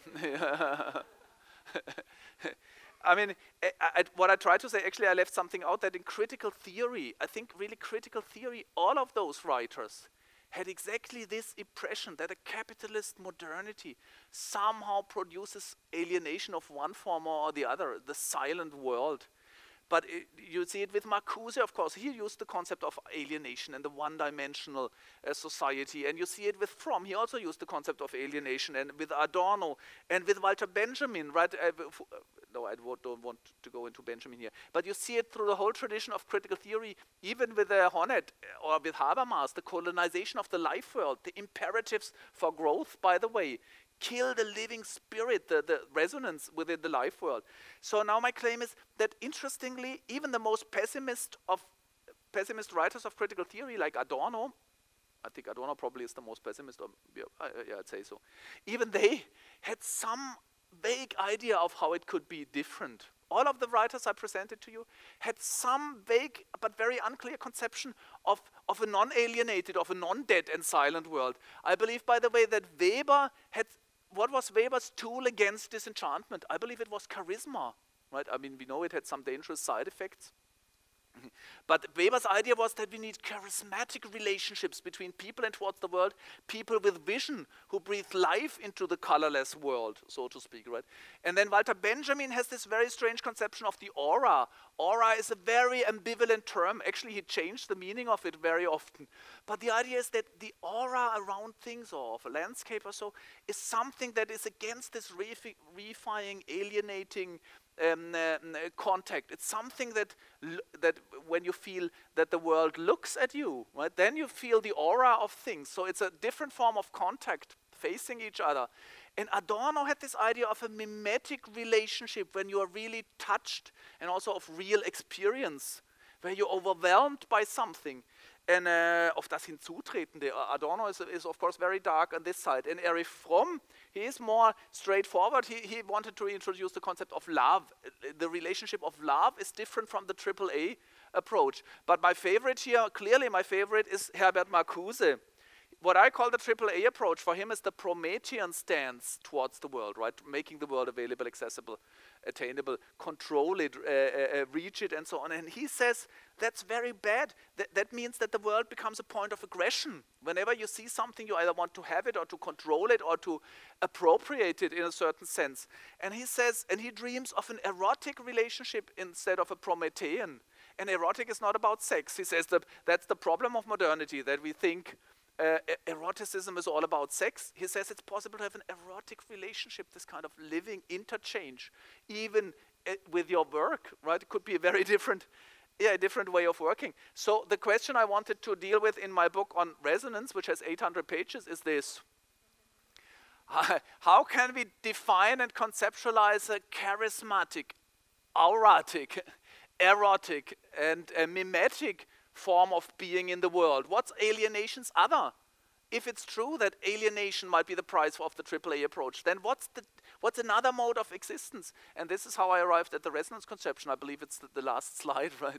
I mean, what I tried to say, actually I left something out, that in critical theory, I think really critical theory, all of those writers had exactly this impression that a capitalist modernity somehow produces alienation of one form or the other, the silent world. But you see it with Marcuse, of course. He used the concept of alienation and the one-dimensional society. And you see it with Fromm. He also used the concept of alienation, and with Adorno, and with Walter Benjamin, right? No, I don't want to go into Benjamin here. But you see it through the whole tradition of critical theory, even with Honneth or with Habermas, the colonization of the life world, the imperatives for growth, by the way, kill the living spirit, the resonance within the life world. So now my claim is that, interestingly, even the most pessimist writers of critical theory, like Adorno, I think Adorno probably is the most pessimist, yeah, I'd say so. Even they had some vague idea of how it could be different. All of the writers I presented to you had some vague but very unclear conception of a non-alienated, of a non-dead and silent world. I believe, by the way, that Weber had, what was Weber's tool against disenchantment? I believe it was charisma, right? I mean, we know it had some dangerous side effects. But Weber's idea was that we need charismatic relationships between people and towards the world, people with vision who breathe life into the colorless world, so to speak, right? And then Walter Benjamin has this very strange conception of the aura. Aura is a very ambivalent term. Actually, he changed the meaning of it very often. But the idea is that the aura around things, or of a landscape or so, is something that is against this reifying, alienating contact. It's something that when you feel that the world looks at you, right, then you feel the aura of things. So it's a different form of contact, facing each other. And Adorno had this idea of a mimetic relationship, when you are really touched, and also of real experience, where you're overwhelmed by something. And of das Hinzutretende, Adorno is of course very dark on this side. And Erich Fromm, he is more straightforward. He wanted to introduce the concept of love. The relationship of love is different from the AAA approach. But my favorite here, clearly my favorite, is Herbert Marcuse. What I call the AAA approach for him is the Promethean stance towards the world, right? Making the world available, accessible, attainable, control it, reach it, and so on. And he says that's very bad. That means that the world becomes a point of aggression. Whenever you see something, you either want to have it or to control it or to appropriate it in a certain sense. And he says, and he dreams of an erotic relationship instead of a Promethean. And erotic is not about sex. He says that that's the problem of modernity, that we think eroticism is all about sex. He says it's possible to have an erotic relationship, this kind of living interchange, even with your work, right? It could be a very different way of working. So the question I wanted to deal with in my book on resonance, which has 800 pages, is this. How can we define and conceptualize a charismatic, auratic, erotic, and mimetic form of being in the world? What's alienation's other? If it's true that alienation might be the price of the AAA approach, then what's another mode of existence? And this is how I arrived at the resonance conception. I believe it's the last slide, right?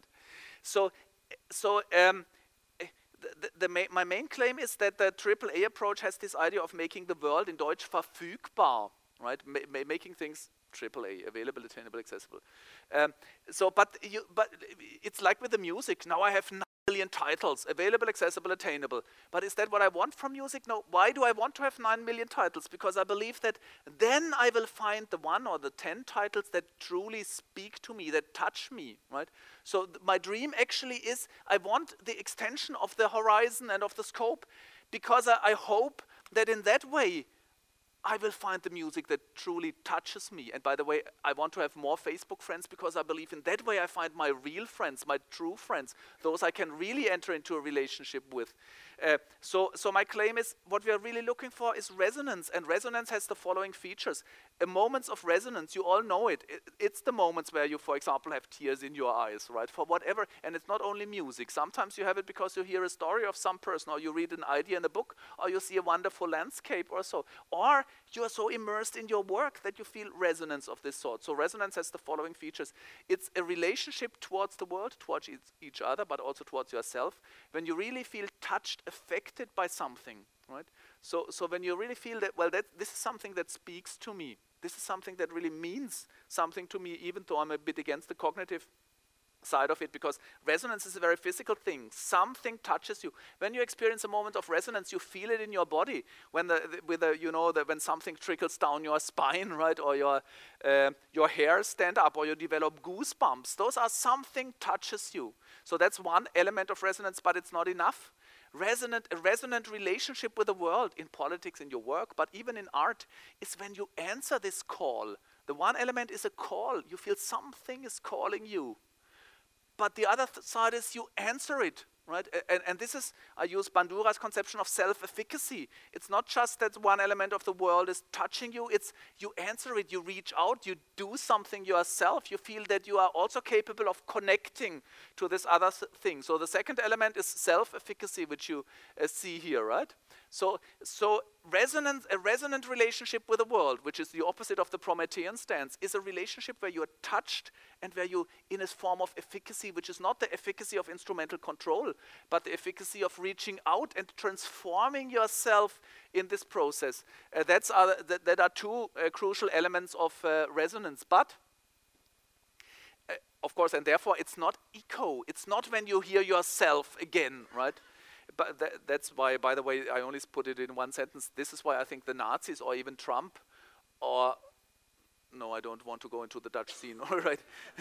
My main claim is that the AAA approach has this idea of making the world, in Deutsch, verfügbar, right? Making things AAA, available, attainable, accessible. But it's like with the music. Now I have 9 million titles, available, accessible, attainable. But is that what I want from music? No. Why do I want to have 9 million titles? Because I believe that then I will find the 1 or the 10 titles that truly speak to me, that touch me, right? So my dream actually is, I want the extension of the horizon and of the scope, because I hope that in that way, I will find the music that truly touches me. And by the way, I want to have more Facebook friends, because I believe in that way I find my real friends, my true friends, those I can really enter into a relationship with. So my claim is, what we are really looking for is resonance, and resonance has the following features. Moments of resonance, you all know it. It's the moments where you, for example, have tears in your eyes, right? For whatever, and it's not only music. Sometimes you have it because you hear a story of some person, or you read an idea in a book, or you see a wonderful landscape or so. Or you are so immersed in your work that you feel resonance of this sort. So resonance has the following features. It's a relationship towards the world, towards each other, but also towards yourself. When you really feel touched, affected by something, right? So when you really feel that, well, this is something that speaks to me. This is something that really means something to me, even though I'm a bit against the cognitive side of it, because resonance is a very physical thing. Something touches you. When you experience a moment of resonance, you feel it in your body. When when something trickles down your spine, right, or your hair stand up, or you develop goosebumps. Those are something touches you. So that's one element of resonance, but it's not enough. A resonant relationship with the world, in politics, in your work, but even in art, is when you answer this call. The one element is a call. You feel something is calling you. But the other side is you answer it, right? And this is, I use Bandura's conception of self-efficacy. It's not just that one element of the world is touching you, it's you answer it, you reach out, you do something yourself, you feel that you are also capable of connecting to this other thing. So the second element is self-efficacy, which you see here, right? So a resonant relationship with the world, which is the opposite of the Promethean stance, is a relationship where you are touched and where you, in a form of efficacy, which is not the efficacy of instrumental control, but the efficacy of reaching out and transforming yourself in this process. That are two crucial elements of resonance. But of course, and therefore, it's not echo. It's not when you hear yourself again, right? But that's why, by the way, I only put it in one sentence. This is why I think the Nazis, or even Trump, or no, I don't want to go into the Dutch scene, all right.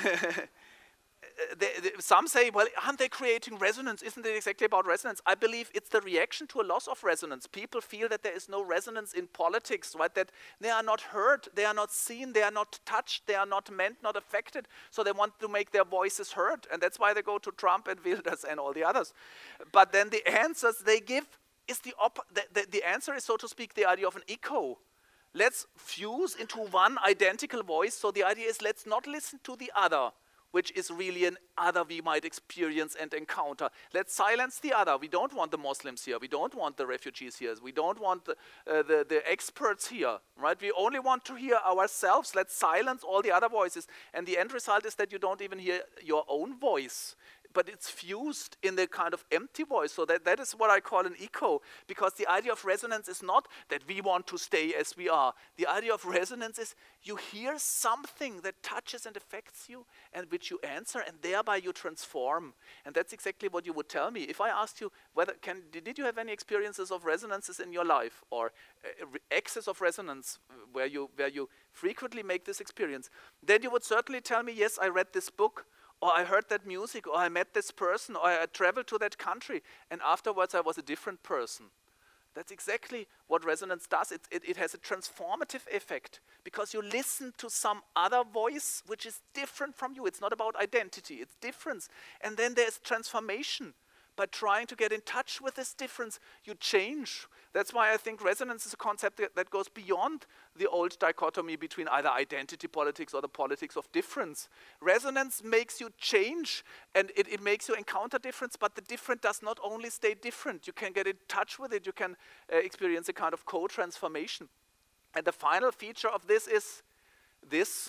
Some say, well, aren't they creating resonance? Isn't it exactly about resonance? I believe it's the reaction to a loss of resonance. People feel that there is no resonance in politics, right? That they are not heard, they are not seen, they are not touched, they are not meant, not affected. So they want to make their voices heard. And that's why they go to Trump and Wilders and all the others. But then the answers they give is the answer is, so to speak, the idea of an echo. Let's fuse into one identical voice. So the idea is, let's not listen to the other, which is really an other we might experience and encounter. Let's silence the other. We don't want the Muslims here. We don't want the refugees here. We don't want the experts here, right? We only want to hear ourselves. Let's silence all the other voices. And the end result is that you don't even hear your own voice, but it's fused in the kind of empty voice. So that is what I call an echo, because the idea of resonance is not that we want to stay as we are. The idea of resonance is you hear something that touches and affects you, and which you answer, and thereby you transform. And that's exactly what you would tell me. If I asked you, did you have any experiences of resonances in your life, or excess of resonance where you frequently make this experience, then you would certainly tell me, yes, I read this book, or I heard that music, or I met this person, or I traveled to that country, and afterwards I was a different person. That's exactly what resonance does. It has a transformative effect, because you listen to some other voice which is different from you. It's not about identity, it's difference. And then there's transformation. By trying to get in touch with this difference, you change. That's why I think resonance is a concept that goes beyond the old dichotomy between either identity politics or the politics of difference. Resonance makes you change, and it makes you encounter difference, but the different does not only stay different. You can get in touch with it. You can experience a kind of co-transformation. And the final feature of this is this.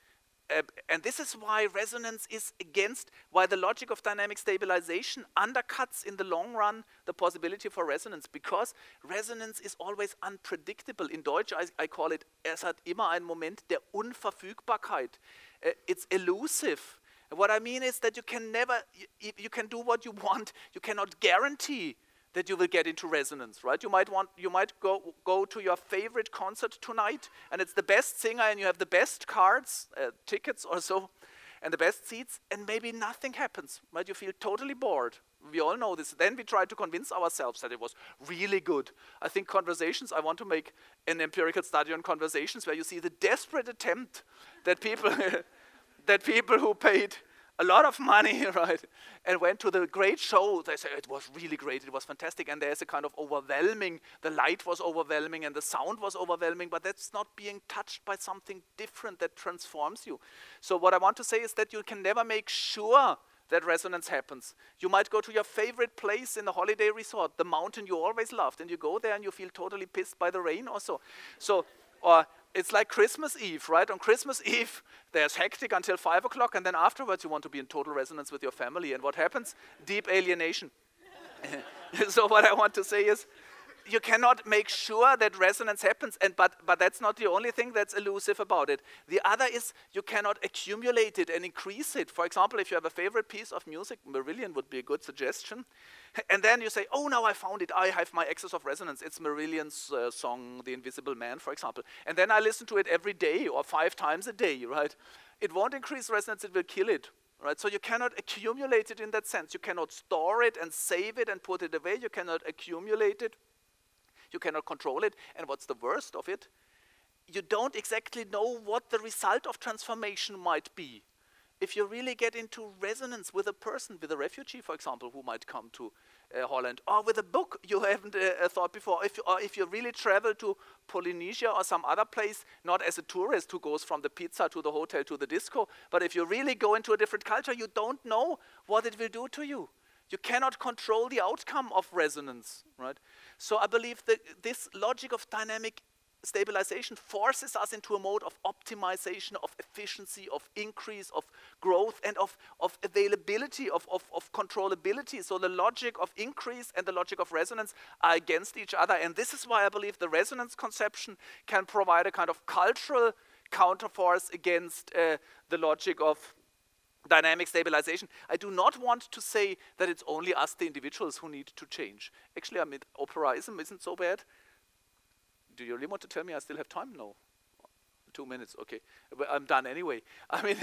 And this is why resonance is why the logic of dynamic stabilization undercuts in the long run the possibility for resonance, because resonance is always unpredictable. In Deutsch, I call it, es hat immer einen Moment der Unverfügbarkeit. It's elusive. And what I mean is that you can never, you can do what you want, you cannot guarantee that you will get into resonance, right? You might go to your favorite concert tonight, and it's the best singer, and you have the best cards, tickets or so, and the best seats, and maybe nothing happens, right? You feel totally bored. We all know this. Then we try to convince ourselves that it was really good. I think conversations, I want to make an empirical study on conversations where you see the desperate attempt that people, that people who paid a lot of money, right, and went to the great show, they say it was really great, it was fantastic, and there's a kind of overwhelming, the light was overwhelming and the sound was overwhelming, but that's not being touched by something different that transforms you. So what I want to say is that you can never make sure that resonance happens. You might go to your favorite place in the holiday resort, the mountain you always loved, and you go there and you feel totally pissed by the rain or so. Or it's like Christmas Eve, right? On Christmas Eve, there's hectic until 5 o'clock, and then afterwards you want to be in total resonance with your family. And what happens? Deep alienation. So what I want to say is, you cannot make sure that resonance happens, but that's not the only thing that's elusive about it. The other is you cannot accumulate it and increase it. For example, if you have a favorite piece of music, Marillion would be a good suggestion, and then you say, oh, now I found it, I have my axis of resonance. It's Marillion's song, The Invisible Man, for example. And then I listen to it every day or 5 times a day, right? It won't increase resonance, it will kill it. Right? So you cannot accumulate it in that sense. You cannot store it and save it and put it away. You cannot accumulate it. You cannot control it. And what's the worst of it? You don't exactly know what the result of transformation might be. If you really get into resonance with a person, with a refugee, for example, who might come to Holland, or with a book you haven't thought before, if you really travel to Polynesia or some other place, not as a tourist who goes from the pizza to the hotel to the disco, but if you really go into a different culture, you don't know what it will do to you. You cannot control the outcome of resonance, right? So I believe that this logic of dynamic stabilization forces us into a mode of optimization, of efficiency, of increase, of growth, and of availability, of controllability. So the logic of increase and the logic of resonance are against each other. And this is why I believe the resonance conception can provide a kind of cultural counterforce against the logic of dynamic stabilization. I do not want to say that it's only us, the individuals, who need to change. Actually, I mean, operaism isn't so bad. Do you really want to tell me I still have time? No. 2 minutes, okay. But I'm done anyway. I mean,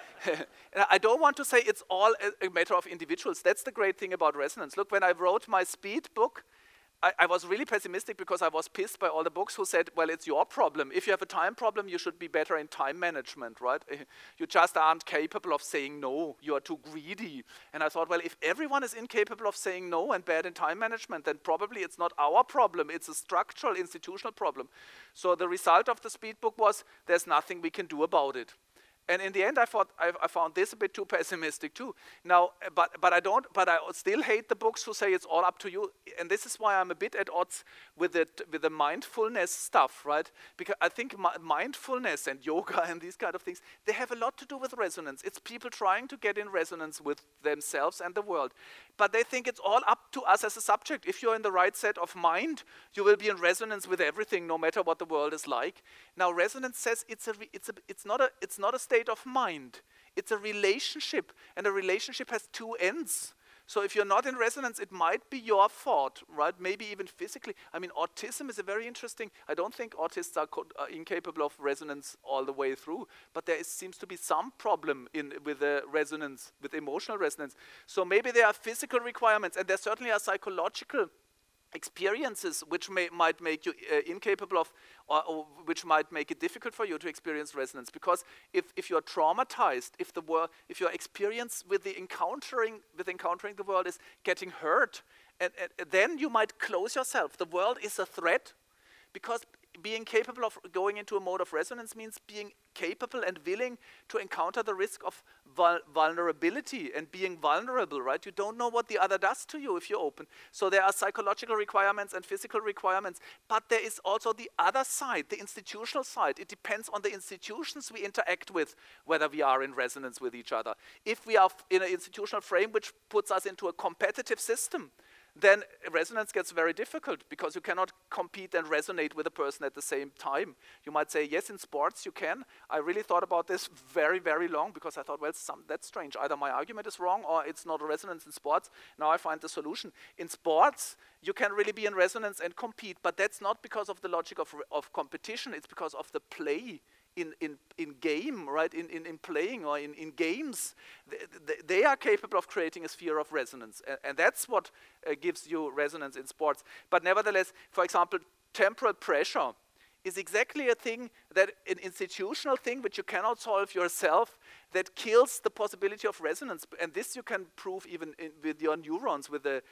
I don't want to say it's all a matter of individuals. That's the great thing about resonance. Look, when I wrote my speed book, I was really pessimistic because I was pissed by all the books who said, well, it's your problem. If you have a time problem, you should be better in time management, right? You just aren't capable of saying no. You are too greedy. And I thought, well, if everyone is incapable of saying no and bad in time management, then probably it's not our problem. It's a structural, institutional problem. So the result of the speed book was there's nothing we can do about it. And in the end, I found this a bit too pessimistic too. Now, but I still hate the books who say it's all up to you. And this is why I'm a bit at odds with the mindfulness stuff, right? Because I think mindfulness and yoga and these kind of things, they have a lot to do with resonance. It's people trying to get in resonance with themselves and the world. But they think it's all up to us as a subject. If you're in the right set of mind, you will be in resonance with everything, no matter what the world is like. Now, resonance says it's not a state of mind. It's a relationship, and a relationship has 2 ends. So if you're not in resonance, it might be your fault, right? Maybe even physically. I mean, autism is a very interesting. I don't think autists are incapable of resonance all the way through, but there seems to be some problem with resonance, with emotional resonance. So maybe there are physical requirements, and there certainly are psychological experiences which might make you incapable of, or which might make it difficult for you to experience resonance. Because if you're traumatized, if your experience with encountering the world is getting hurt, and then you might close yourself. The world is a threat, because being capable of going into a mode of resonance means being capable and willing to encounter the risk of vulnerability and being vulnerable, right? You don't know what the other does to you if you're open. So there are psychological requirements and physical requirements, but there is also the other side, the institutional side. It depends on the institutions we interact with, whether we are in resonance with each other. If we are in an institutional frame which puts us into a competitive system, then resonance gets very difficult because you cannot compete and resonate with a person at the same time. You might say, yes, in sports you can. I really thought about this very, very long because I thought, well, that's strange. Either my argument is wrong or it's not a resonance in sports. Now I find the solution. In sports, you can really be in resonance and compete, but that's not because of the logic of competition. It's because of the play in game, right? In playing or in games, they are capable of creating a sphere of resonance, and that's what gives you resonance in sports. But nevertheless, for example, temporal pressure is exactly a thing that an institutional thing which you cannot solve yourself that kills the possibility of resonance, and this you can prove even with your neurons, with the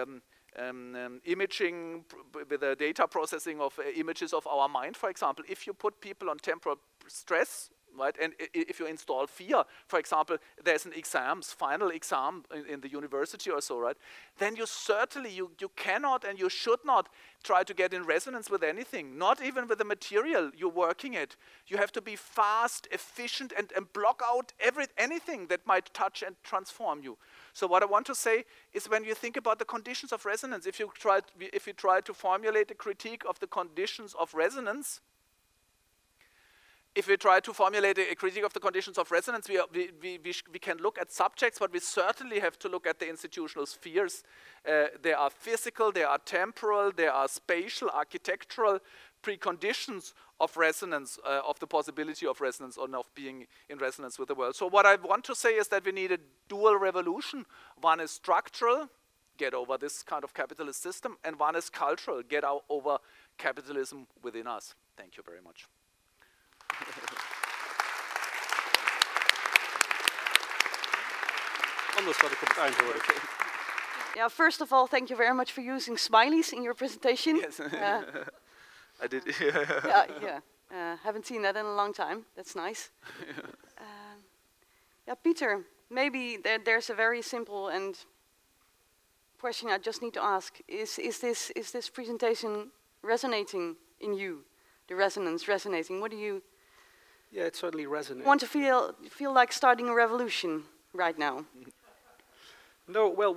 imaging, with the data processing of images of our mind, for example. If you put people on temporal stress, right, and if you install fear, for example, there's an final exam in the university or so, right, then you certainly, you cannot and you should not try to get in resonance with anything, not even with the material you're working at. You have to be fast, efficient, and block out anything that might touch and transform you. So what I want to say is, when you think about the conditions of resonance, if you try to formulate a critique of the conditions of resonance, we can look at subjects, but we certainly have to look at the institutional spheres. There are physical, there are temporal, there are spatial, architectural preconditions of resonance, of the possibility of resonance or of being in resonance with the world. So what I want to say is that we need a dual revolution. One is structural, get over this kind of capitalist system, and one is cultural, get over capitalism within us. Thank you very much. Anders had ik op het eind horen. Yeah, first of all, thank you very much for using smileys in your presentation. Yes, I did. Haven't seen that in a long time. That's nice. Peter, maybe there's a very simple and question I just need to ask. Is this presentation resonating in you? The resonance resonating? What do you? Yeah, it certainly resonates. Want to feel like starting a revolution right now? No, well,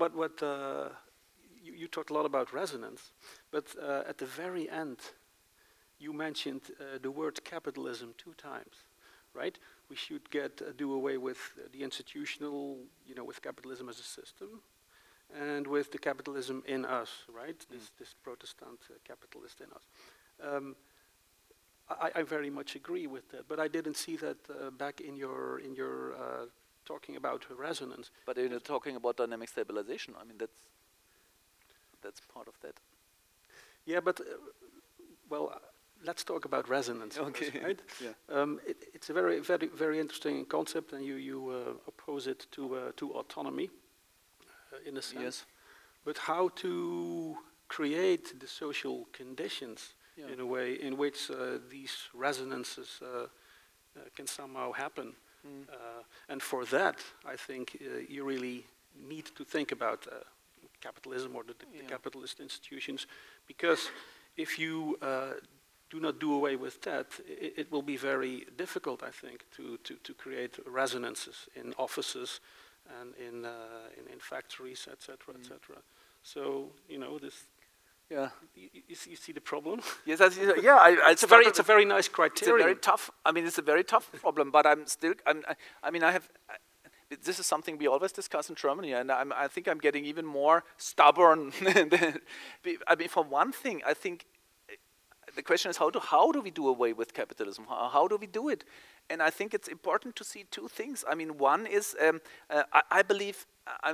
you talked a lot about resonance, but at the very end, you mentioned the word capitalism 2 times, right? We should do away with the institutional, with capitalism as a system, and with the capitalism in us, right? This Protestant capitalist in us. I very much agree with that, but I didn't see that back in your talking about resonance. But you're talking about dynamic stabilization. I mean, that's part of that. Yeah, but let's talk about resonance. Okay. First, right? Yeah. It's a very, very, very interesting concept, and you oppose it to autonomy, in a sense. Yes. But how to create the social conditions in a way in which these resonances can somehow happen. And for that, I think you really need to think about capitalism or the capitalist institutions, because if you do not do away with that, it will be very difficult, I think, to create resonances in offices and in factories, etc., etc. So this. Yeah, you see the problem. Yes, I see. Yeah, it's a very nice criterion. It's a very tough. I mean, it's a very tough problem. But this is something we always discuss in Germany, and I think I'm getting even more stubborn. I mean, for one thing, I think the question is how do we do away with capitalism? How do we do it? And I think it's important to see 2 things. I mean, one is I believe.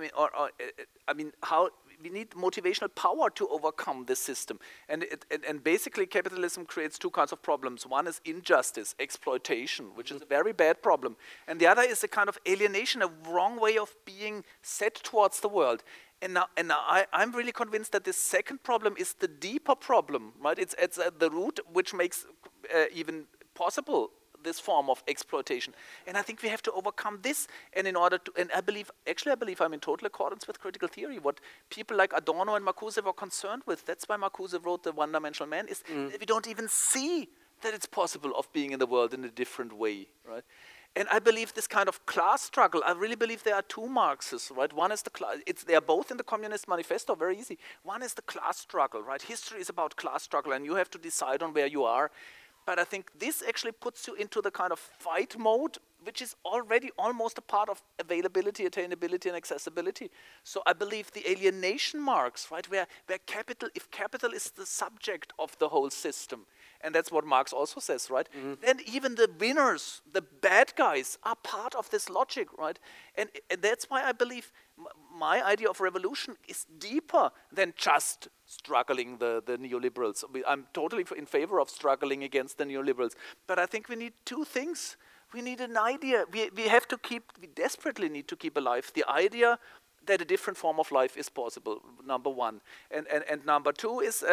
How we need motivational power to overcome this system, and basically capitalism creates 2 kinds of problems. One is injustice, exploitation, which is a very bad problem, and the other is a kind of alienation, a wrong way of being set towards the world. And now I'm really convinced that this second problem is the deeper problem, right? It's at the root which makes even possible this form of exploitation. And I think we have to overcome this, and I believe I'm in total accordance with critical theory. What people like Adorno and Marcuse were concerned with, that's why Marcuse wrote The One-Dimensional Man, is that we don't even see that it's possible of being in the world in a different way, right? And I believe this kind of class struggle, I really believe there are two Marxes, right? One is the class, they are both in the Communist Manifesto, very easy. One is the class struggle, right? History is about class struggle, and you have to decide on where you are. But I think this actually puts you into the kind of fight mode, which is already almost a part of availability, attainability, and accessibility. So I believe the alienation Marx, right, where capital, if capital is the subject of the whole system, and that's what Marx also says, right, then even the winners, the bad guys, are part of this logic, right? And that's why I believe my idea of revolution is deeper than just struggling the neoliberals. I'm totally in favor of struggling against the neoliberals. But I think we need two things. We need an idea. We desperately need to keep alive the idea that a different form of life is possible, number one. And number two is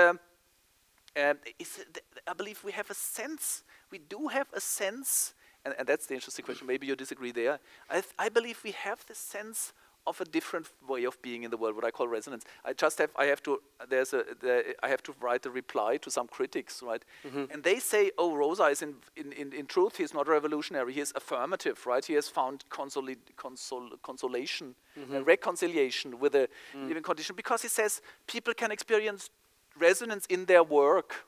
I believe we have a sense, we do have a sense, and that's the interesting question, maybe you disagree there. I believe we have the sense of a different way of being in the world, what I call resonance. I have to write a reply to some critics, right? And they say, oh, Rosa is in truth, he's not revolutionary, he is affirmative, right? He has found consolation, reconciliation with a living condition, because he says people can experience resonance in their work,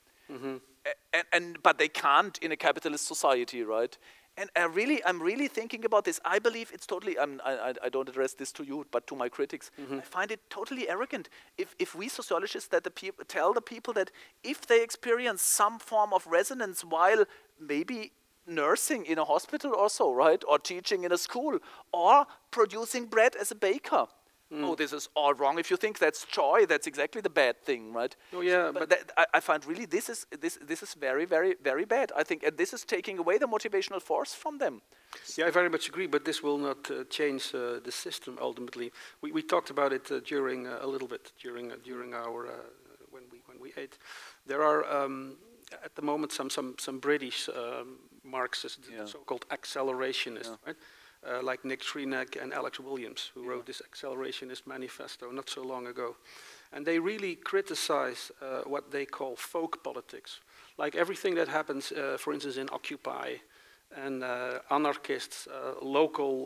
but they can't in a capitalist society, right? And I'm really thinking about this. I believe it's totally, I don't address this to you, but to my critics. I find it totally arrogant if we sociologists tell the people that if they experience some form of resonance while maybe nursing in a hospital or so, right, or teaching in a school, or producing bread as a baker, oh, this is all wrong. If you think that's joy, that's exactly the bad thing, right? Oh yeah, but I find really this is very, very, very bad. I think, and this is taking away the motivational force from them. Yeah, I very much agree. But this will not change the system ultimately. We talked about it during a little bit during our when we ate. There are at the moment some British Marxists, so-called accelerationists, right? Like Nick Shrenak and Alex Williams, who wrote this Accelerationist Manifesto not so long ago. And they really criticize what they call folk politics. Like everything that happens, for instance, in Occupy, and anarchists, local,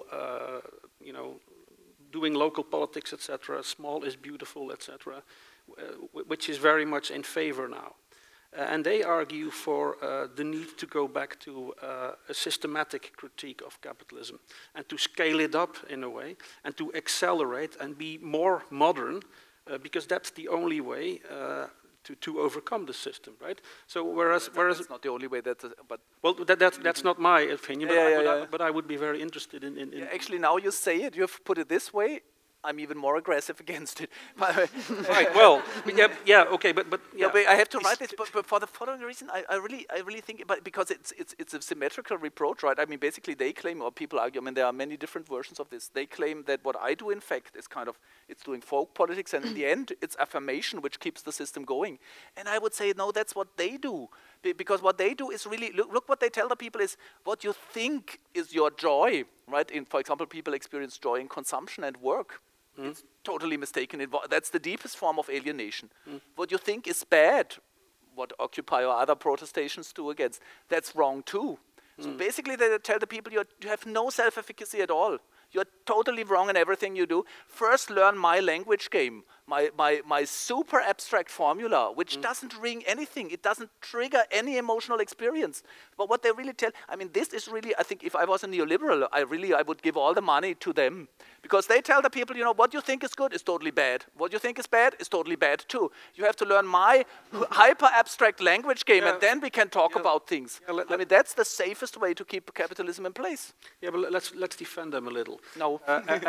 doing local politics, etc., small is beautiful, etc., which is very much in favor now. And they argue for the need to go back to a systematic critique of capitalism and to scale it up in a way and to accelerate and be more modern because that's the only way to overcome the system, right? So whereas that's not the only way. That's not my opinion. But I would be very interested in actually, now you say it, you've put it this way. I'm even more aggressive against it. Right. Well, okay, but I have to write this, but for the following reason, I really think, because it's a symmetrical reproach, right? I mean, basically, they claim, or people argue. I mean, there are many different versions of this. They claim that what I do, in fact, is kind of it's doing folk politics, and in the end, it's affirmation which keeps the system going. And I would say, no, that's what they do, because what they do is really look what they tell the people is what you think is your joy, right? For example, people experience joy in consumption and work. It's totally mistaken. That's the deepest form of alienation. What you think is bad, what Occupy or other protestations do against, that's wrong too. So basically they tell the people you have no self-efficacy at all. You're totally wrong in everything you do. First learn my language game, my super abstract formula, which doesn't ring anything. It doesn't trigger any emotional experience. But what they really tell, I mean, this is really, I think if I was a neoliberal, I would give all the money to them. Because they tell the people, what you think is good is totally bad. What you think is bad is totally bad too. You have to learn my hyper abstract language game, and then we can talk about things. I mean, that's the safest way to keep capitalism in place. Yeah, but let's defend them a little. No.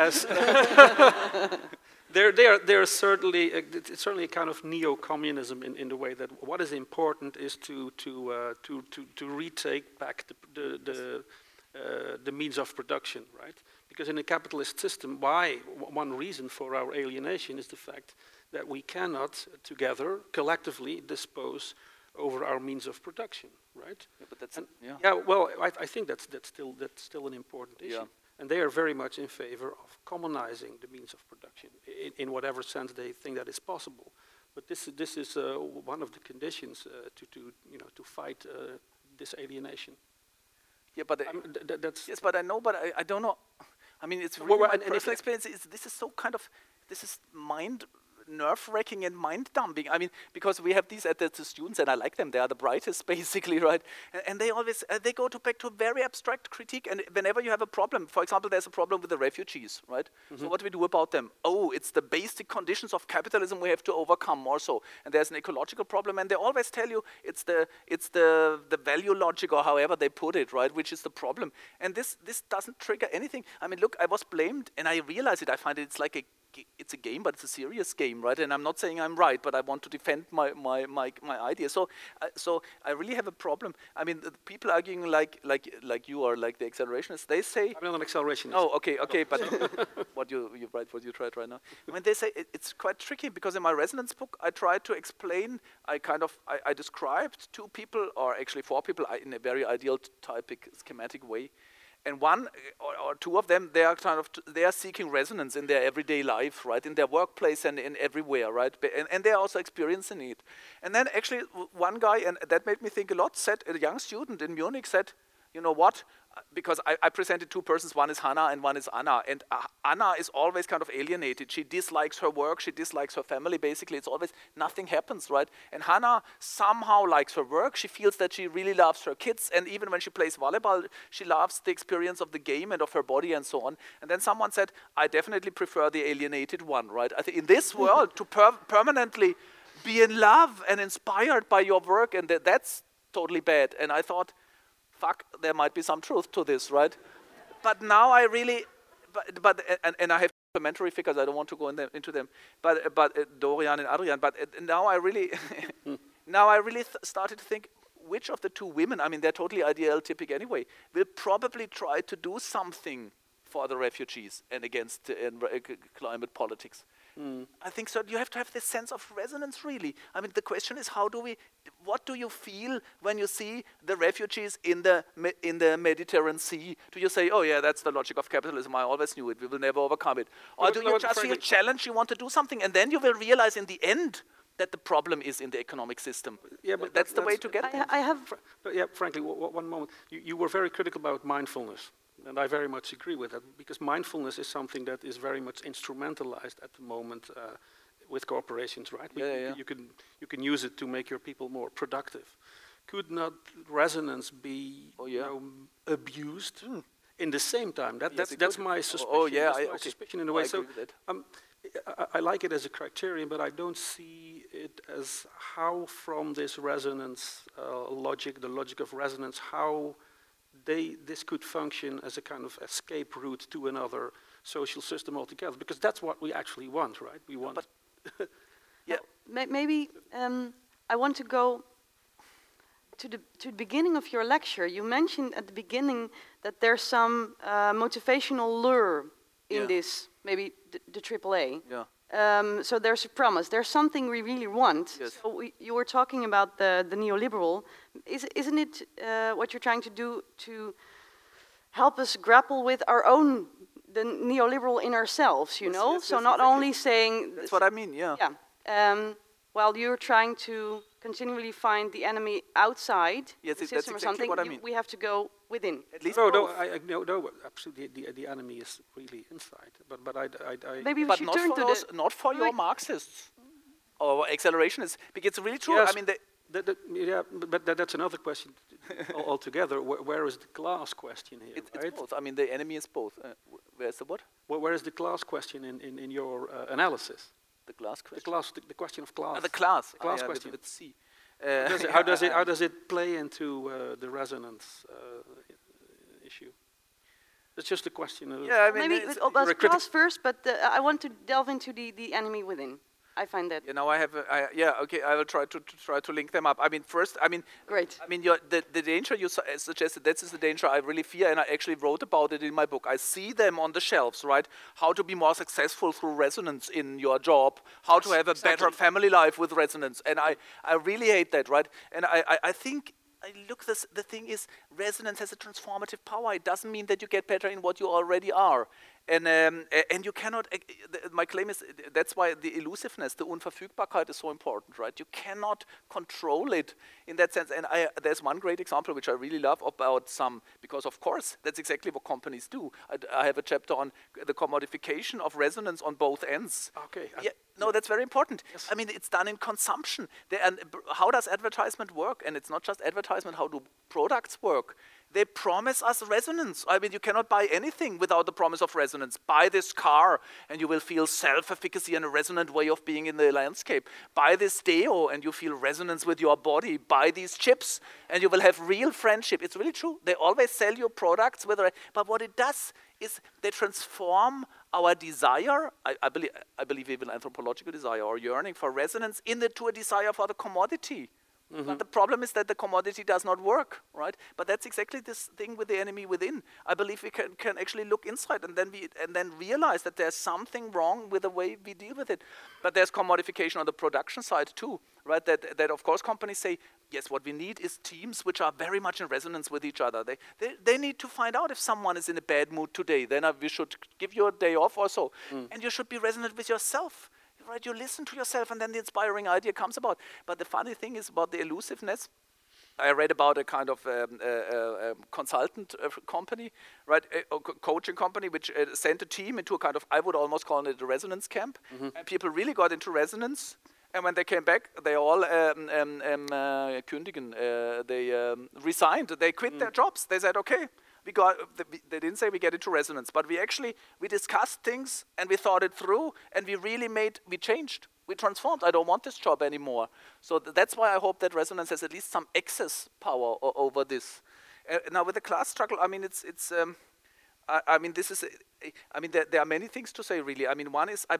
They're certainly it's certainly a kind of neo-communism in the way that what is important is to retake back the means of production, right? Because in a capitalist system, one reason for our alienation is the fact that we cannot together collectively dispose over our means of production, right? Yeah, but that's well, I think that's still an important issue. Yeah. And they are very much in favor of commonizing the means of production in whatever sense they think that is possible. But this is one of the conditions to fight this alienation. Yeah, but that's yes, but I know, but I don't know. I mean, it's Well, really well, my and if- personal experience. This is so kind of, this is nerve-wracking and mind-dumping. I mean, because we have these at the students, and I like them. They are the brightest, basically, right? And they always they go back to very abstract critique. And whenever you have a problem, for example, there's a problem with the refugees, right? So what do we do about them? Oh, it's the basic conditions of capitalism we have to overcome, more so. And there's an ecological problem, and they always tell you it's the value logic, or however they put it, right, which is the problem. And this doesn't trigger anything. I mean, look, I was blamed, and I realize it. I find it's like it's a game, but it's a serious game, right? And I'm not saying I'm right, but I want to defend my idea. So I really have a problem. I mean, the people arguing like you are, like the accelerationists, they say. I'm not an accelerationist. Oh, okay, but what you tried right now. When they say it's quite tricky, because in my resonance book I tried to explain. I described 2 people, or actually 4 people, in a very ideal typic schematic way. And one or 2 of them, they are seeking resonance in their everyday life, right, in their workplace and in everywhere, right, and they are also experiencing it. And then actually one guy, and that made me think a lot, said, a young student in Munich said, you know what, because I presented 2 persons, one is Hannah and one is Anna, and Anna is always kind of alienated. She dislikes her work, she dislikes her family, basically it's always, nothing happens, right? And Hannah somehow likes her work, she feels that she really loves her kids, and even when she plays volleyball, she loves the experience of the game and of her body and so on. And then someone said, I definitely prefer the alienated one, right? I think in this world, to permanently be in love and inspired by your work, and that's totally bad. And I thought, fuck, there might be some truth to this, right? But now I really, and I have supplementary figures, I don't want to go into them, but Dorian and Adrian, but now I really, started to think, which of the 2 women, I mean, they're totally ideal typic anyway, will probably try to do something for the refugees and against climate politics. I think so. You have to have this sense of resonance, really. I mean, the question is, what do you feel when you see the refugees in the Mediterranean Sea? Do you say, oh yeah, that's the logic of capitalism, I always knew it, we will never overcome it? Or do you just feel challenged, you want to do something, and then you will realize in the end that the problem is in the economic system? Yeah, but that's the way to get there. I have. Yeah, frankly, one moment. You were very critical about mindfulness, and I very much agree with that, because mindfulness is something that is very much instrumentalized at the moment with corporations, right? You can use it to make your people more productive. Could not resonance be abused in the same time? That's my suspicion. That's my suspicion in a way. I agree with that. I like it as a criterion, but I don't see it as how from this resonance logic, the logic of resonance, how this could function as a kind of escape route to another social system altogether, because that's what we actually want, right? We want. Maybe I want to go to the beginning of your lecture. You mentioned at the beginning that there's some motivational lure in this, maybe the AAA. Yeah. So there's a promise. There's something we really want. Yes. So you were talking about the neoliberal. Isn't it what you're trying to do to help us grapple with the neoliberal in ourselves, you know? So not only saying... That's what I mean, yeah. Yeah. While you're trying to continually find the enemy outside the system that's or exactly something, what I mean. we have to go within. At least no, absolutely. The enemy is really inside. But I Maybe we but should not turn for to those, not for your Marxists or accelerationists, because it's really true. Yes. I mean, but that's another question altogether. Where is the class question here? it's right? both. I mean, the enemy is both. Where's the what? Where is the class question in your analysis? The class question. The question of class. The class. The class yeah, question. with C. How does it play into the resonance issue? It's just a question of... Yeah, I mean, Maybe about class first, but I want to delve into the enemy within. I find that. You know, I will try to link them up. I mean, first, Great. I mean, the danger you suggested, that is the danger I really fear, and I actually wrote about it in my book. I see them on the shelves, right? How to be more successful through resonance in your job, how to have a better family life with resonance, and I really hate that, right? And I think, the thing is, resonance has a transformative power. It doesn't mean that you get better in what you already are. And you cannot, my claim is, that's why the elusiveness, the Unverfügbarkeit is so important, right? You cannot control it in that sense. And there's one great example which I really love about because of course, that's exactly what companies do. I have a chapter on the commodification of resonance on both ends. Okay. Yeah, no, that's very important. Yes. I mean, it's done in consumption. And how does advertisement work? And it's not just advertisement, how do products work? They promise us resonance. I mean, you cannot buy anything without the promise of resonance. Buy this car and you will feel self-efficacy and a resonant way of being in the landscape. Buy this deo and you feel resonance with your body. Buy these chips and you will have real friendship. It's really true. They always sell you products, but what it does is they transform our desire, I believe even anthropological desire or yearning for resonance, into a desire for the commodity. But the problem is that the commodity does not work, right? But that's exactly this thing with the enemy within. I believe we can actually look inside and then realize that there's something wrong with the way we deal with it. But there's commodification on the production side too, right? That of course companies say, yes, what we need is teams which are very much in resonance with each other. They need to find out if someone is in a bad mood today. Then we should give you a day off or so. And you should be resonant with yourself. Right, you listen to yourself and then the inspiring idea comes about. But the funny thing is about the elusiveness. I read about a kind of consultant company, right, a coaching company, which sent a team into a kind of, I would almost call it a resonance camp. And people really got into resonance. And when they came back, they all kündigen. They resigned. They quit their jobs. They said, okay. They didn't say we get into resonance, but we discussed things and we thought it through and we changed, we transformed. I don't want this job anymore. So that's why I hope that resonance has at least some excess power over this. Now with the class struggle, I mean, there are many things to say really. I mean, one is,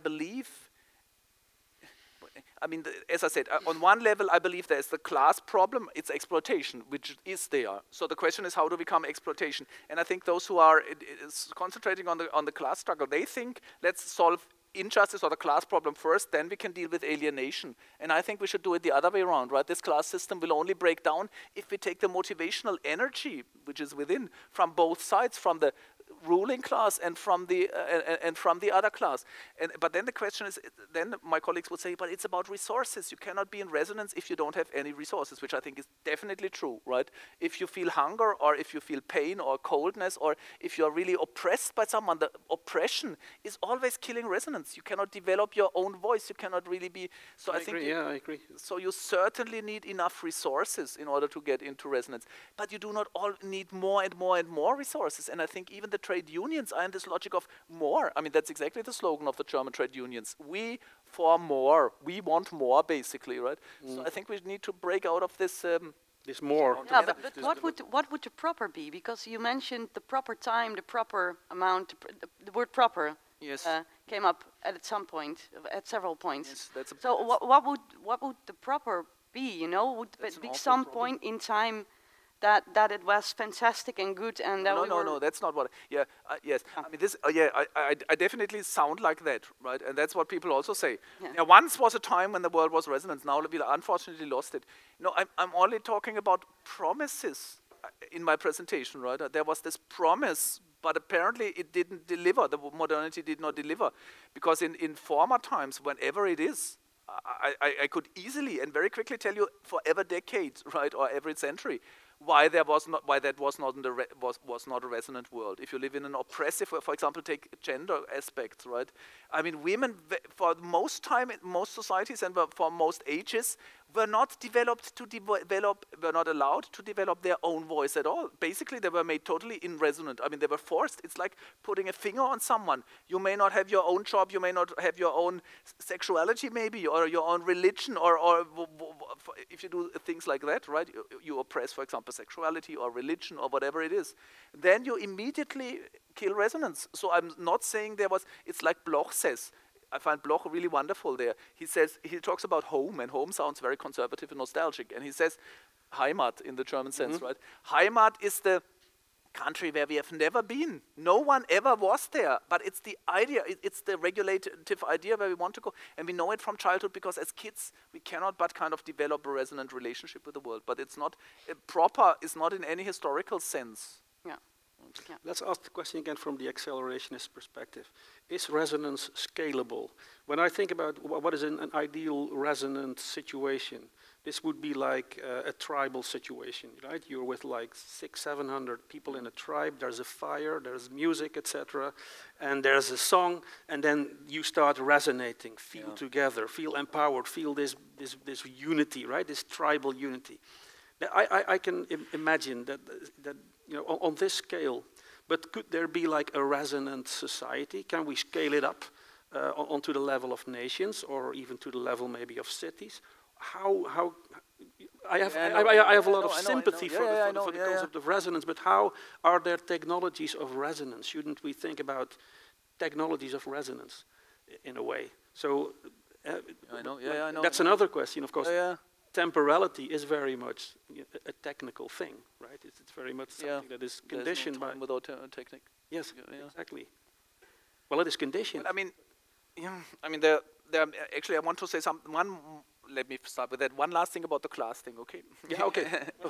as I said, on one level, I believe there's the class problem. It's exploitation, which is there. So the question is, how do we become exploitation? And I think those who are concentrating on the class struggle, they think, let's solve injustice or the class problem first, then we can deal with alienation. And I think we should do it the other way around, right? This class system will only break down if we take the motivational energy, which is within, from both sides, from the ruling class and from the other class. But then the question is, then my colleagues would say, but it's about resources. You cannot be in resonance if you don't have any resources, which I think is definitely true, right? If you feel hunger or if you feel pain or coldness or if you're really oppressed by someone, the oppression is always killing resonance. You cannot develop your own voice. You cannot really be. So I think I agree. So you certainly need enough resources in order to get into resonance. But you do not all need more and more and more resources. And I think even the trade unions are in this logic of more. I mean, that's exactly the slogan of the German trade unions. We for more. We want more, basically, right? So I think we need to break out of this. This more. Yeah, but what would the proper be? Because you mentioned the proper time, the proper amount. The word proper came up at some point, at several points. Yes, that's so what would the proper be? You know, would it be some point in time that it was fantastic and good and that no, that's not what. Yes. I mean, this. I definitely sound like that, right? And that's what people also say. Yeah. Now, once was a time when the world was resonance. Now we unfortunately lost it. No, I'm only talking about promises in my presentation, right? There was this promise, but apparently it didn't deliver. The modernity did not deliver, because in former times, whenever it is, I could easily and very quickly tell you for every decade, right, or every century, why that was not a resonant world. If you live in an oppressive, for example, take gender aspects, right? I mean, women for most time in most societies and for most ages were not were not allowed to develop their own voice at all. Basically, they were made totally irresonant. I mean, they were forced. It's like putting a finger on someone. You may not have your own job, you may not have your own sexuality maybe, or your own religion, or if you do things like that, right? You oppress, for example, sexuality or religion or whatever it is. Then you immediately kill resonance. So I'm not saying it's like Bloch says. I find Bloch really wonderful there. He talks about home, and home sounds very conservative and nostalgic. And he says, Heimat in the German sense, right? Heimat is the country where we have never been. No one ever was there, but it's the idea, it's the regulative idea where we want to go. And we know it from childhood because as kids, we cannot but kind of develop a resonant relationship with the world. But it's not proper, it's not in any historical sense. Yeah. Yeah. Let's ask the question again from the accelerationist perspective. Is resonance scalable? When I think about what is an ideal resonant situation, this would be like a tribal situation, right? You're with like 600-700 people in a tribe, there's a fire, there's music, etc., and there's a song, and then you start resonating, feel together, feel empowered, feel this unity, right? This tribal unity. I can imagine that on this scale, but could there be like a resonant society? Can we scale it up onto the level of nations, or even to the level maybe of cities? How I have a lot of sympathy for the concept of resonance, but how are there technologies of resonance? Shouldn't we think about technologies of resonance in a way? So I know. That's another question, of course. Temporality is very much a technical thing, right? It's very much something that is conditioned by without technique. Yes, exactly. Well, it is conditioned. Well, there actually, I want to say let me start with that. One last thing about the class thing, okay? Yeah, okay.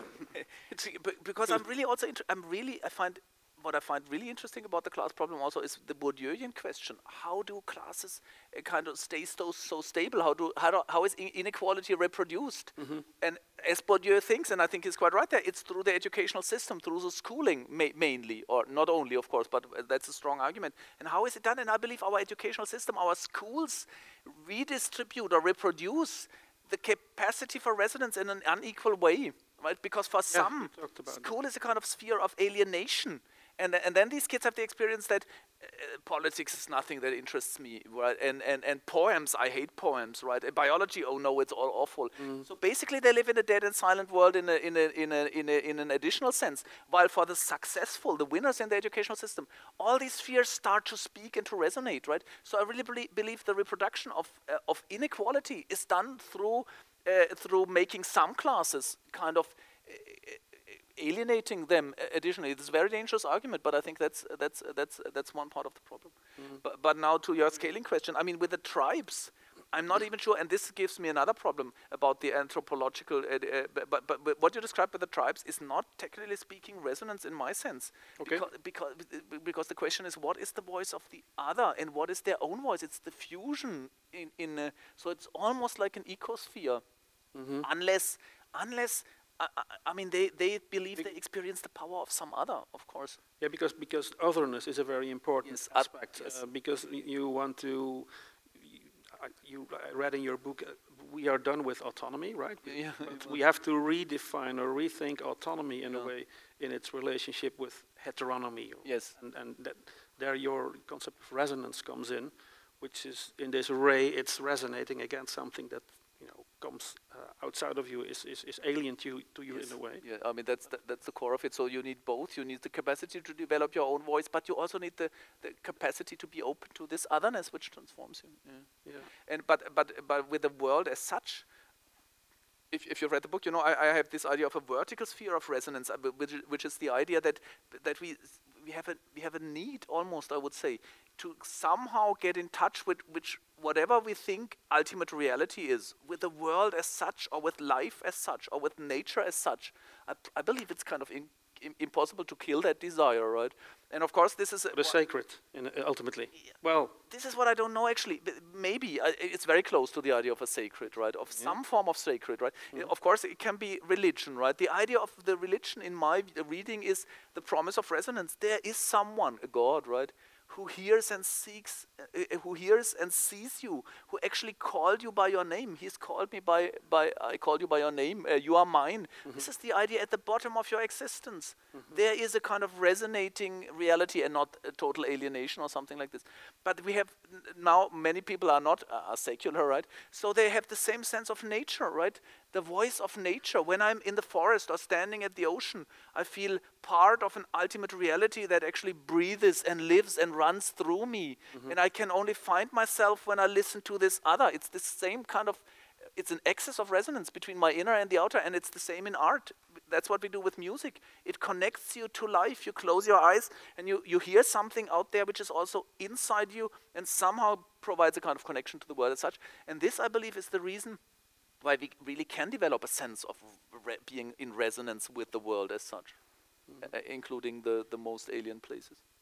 Because I'm really also what I find really interesting about the class problem also is the Bourdieuian question. How do classes kind of stay so stable? How is inequality reproduced? Mm-hmm. And as Bourdieu thinks, and I think he's quite right there, it's through the educational system, through the schooling mainly, or not only, of course, but that's a strong argument. And how is it done? And I believe our educational system, our schools redistribute or reproduce the capacity for resonance in an unequal way, right? Because for some, school is a kind of sphere of alienation. And then these kids have the experience that politics is nothing that interests me, right? And poems, I hate poems, right? And biology, oh no, it's all awful. So basically, they live in a dead and silent world in an additional sense. While for the successful, the winners in the educational system, all these spheres start to speak and to resonate, right? So I really believe the reproduction of inequality is done through making some classes kind of alienating them additionally. It's a very dangerous argument, but I think that's one part of the problem. But now to your scaling question, I mean, with the tribes, I'm not even sure, and this gives me another problem about the anthropological, but what you described with the tribes is not, technically speaking, resonance in my sense. Okay. Because the question is, what is the voice of the other, and what is their own voice? It's the fusion so it's almost like an ecosphere, unless I mean, they believe they experience the power of some other, of course. Yeah, because otherness is a very important aspect. Yes. Because you want to, I read in your book, we are done with autonomy, right? Yeah. But we have to redefine or rethink autonomy in a way in its relationship with heteronomy. Yes. And that there your concept of resonance comes in, which is in this array, it's resonating against something that comes outside of you, is alien to you in a way. Yeah, I mean that's the core of it. So you need both. You need the capacity to develop your own voice, but you also need the capacity to be open to this otherness which transforms you. Yeah. And but with the world as such, if you've read the book, I have this idea of a vertical sphere of resonance, which is the idea that we have a need, almost, I would say, to somehow get in touch with whatever we think ultimate reality is, with the world as such, or with life as such, or with nature as such. I believe it's kind of impossible to kill that desire, right? And of course, this is the sacred, ultimately. Well, this is what I don't know actually. Maybe it's very close to the idea of a sacred, right? Of some form of sacred, right? Of course, it can be religion, right? The idea of the religion, in my reading, is the promise of resonance. There is someone, a God, right, who hears and sees you, who actually called you by your name. He's called me I called you by your name, you are mine. This is the idea at the bottom of your existence. There is a kind of resonating reality and not a total alienation or something like this. But we have, now many people are not secular, right? So they have the same sense of nature, right? The voice of nature. When I'm in the forest or standing at the ocean, I feel part of an ultimate reality that actually breathes and lives and runs through me. And I can only find myself when I listen to this other. It's the same kind of, it's an excess of resonance between my inner and the outer, and it's the same in art. That's what we do with music. It connects you to life. You close your eyes and you hear something out there which is also inside you and somehow provides a kind of connection to the world as such. And this, I believe, is the reason why we really can develop a sense of being in resonance with the world as such. including the most alien places.